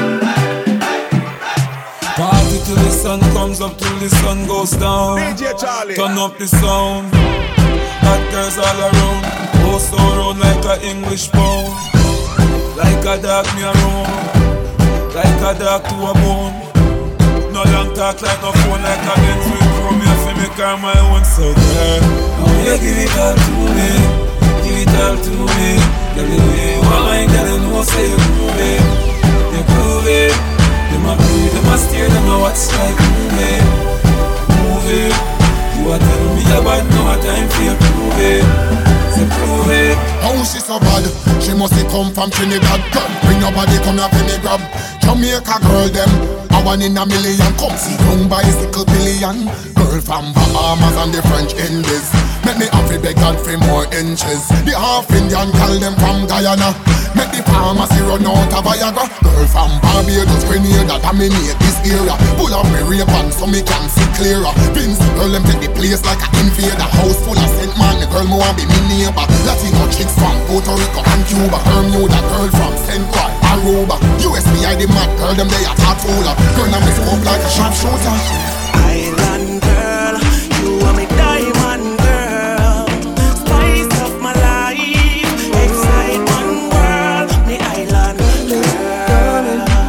Speaker 11: Party till the sun comes up, till the sun goes down.
Speaker 3: DJ Charlie.
Speaker 11: Turn up the sound. Hot girls all around. Post around like a English pound. Like a dog me around. Like a dog to a bone. No long talk like no phone, like a Benz with chrome. You feel me car my own, so girl, oh yeah, give it all to me. Give it all to me. Girl, the way you are mine, girl, you know say you prove it. You prove it. Them a breathe, them a steer, them a watch like movie. Move it. You a tell me about no time for you prove it. Say prove it.
Speaker 17: How she so bad? She must come from Trinidad. Bring your body, come here for me grab. Jamaica girl them, a one in a million. Come see young bicycle billion. Girl from Bahamas and the French Indies. Make me have to beg God for more inches. The half Indian call them from Guyana. Make the pharmacy run out of Viagra. Girl from Barbados, Grenada, dominate this area. Pull up me rape and so me can see clearer. Vince, girl them take the place like an invader. House full of Saint Man, the girl me want be me neighbor. Latino chicks from Puerto Rico and Cuba. Bermuda girl from St. Croix, Aruba. USBI the mad girl them they a tattooer. Girl I'm scope like a sharpshooter.
Speaker 21: Island girl, you are me diamond girl. Spice of my life, excitement world. Me island girl,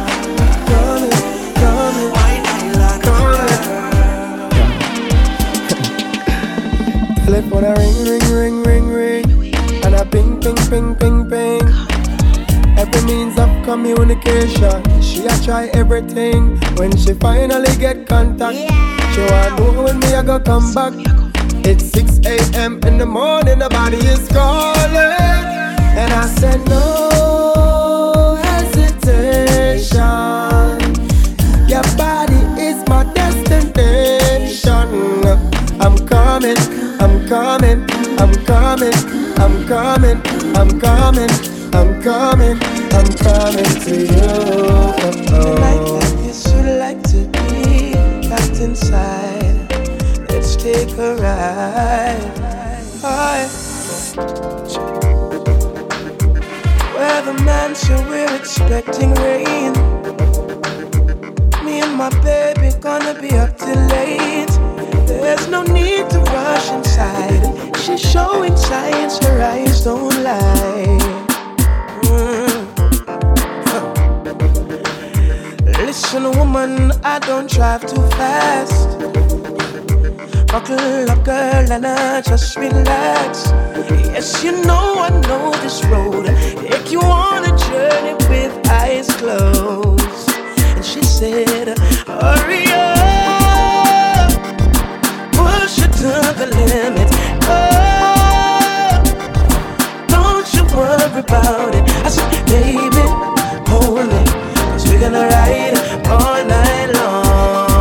Speaker 21: my island girl.
Speaker 10: Telephone a ring, and a ping. Every means of communication, she a try everything. When she finally get contact, You wanna know when me I go come back? It's 6 a.m. in the morning, the body is calling. And I said no hesitation. Your body is my destination. I'm coming, I'm coming, I'm coming, I'm coming, I'm coming, I'm coming, I'm coming to you.
Speaker 9: Like this, you like to be locked inside. Let's take a ride. Where the mansion, we're expecting rain. Me and my baby gonna be up till late. There's no need to rush inside. She's showing signs, her eyes don't lie. Listen, woman, I don't drive too fast. Buckle up, girl, and I just relax. Yes, you know I know this road. Take you on a journey with eyes closed. And she said, hurry up, push it to the limit. Oh, don't you worry about it. I said, baby, hold me, 'cause we're gonna ride all night long.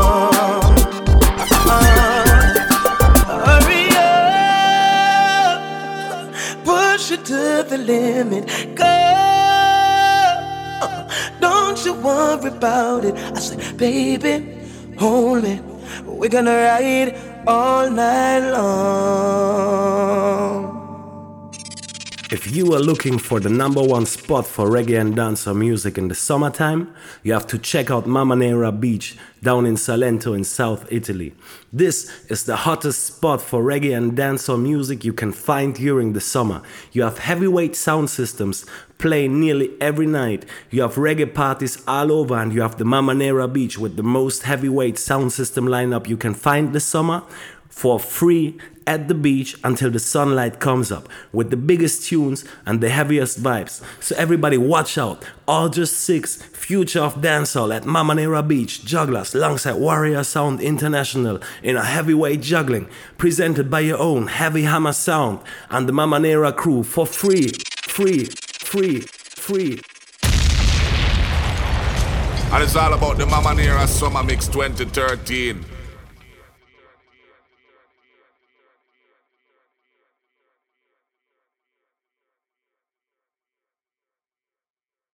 Speaker 9: To the limit, girl. Don't you worry about it. I said, baby, hold me. We're gonna ride all night long.
Speaker 14: If you are looking for the #1 spot for reggae and dancehall music in the summertime, you have to check out Mama Nera Beach down in Salento in South Italy. This is the hottest spot for reggae and dancehall music you can find during the summer. You have heavyweight sound systems playing nearly every night. You have reggae parties all over, and you have the Mama Nera Beach with the most heavyweight sound system lineup you can find this summer for free at the beach until the sunlight comes up with the biggest tunes and the heaviest vibes. So everybody watch out. August 6th, Future of Dancehall at Mama Nera Beach, Jugglers alongside Warrior Sound International in a heavyweight juggling presented by your own Heavy Hammer Sound and the Mama Nera crew for free.
Speaker 22: And it's all about the Mama Nera Summer Mix 2013.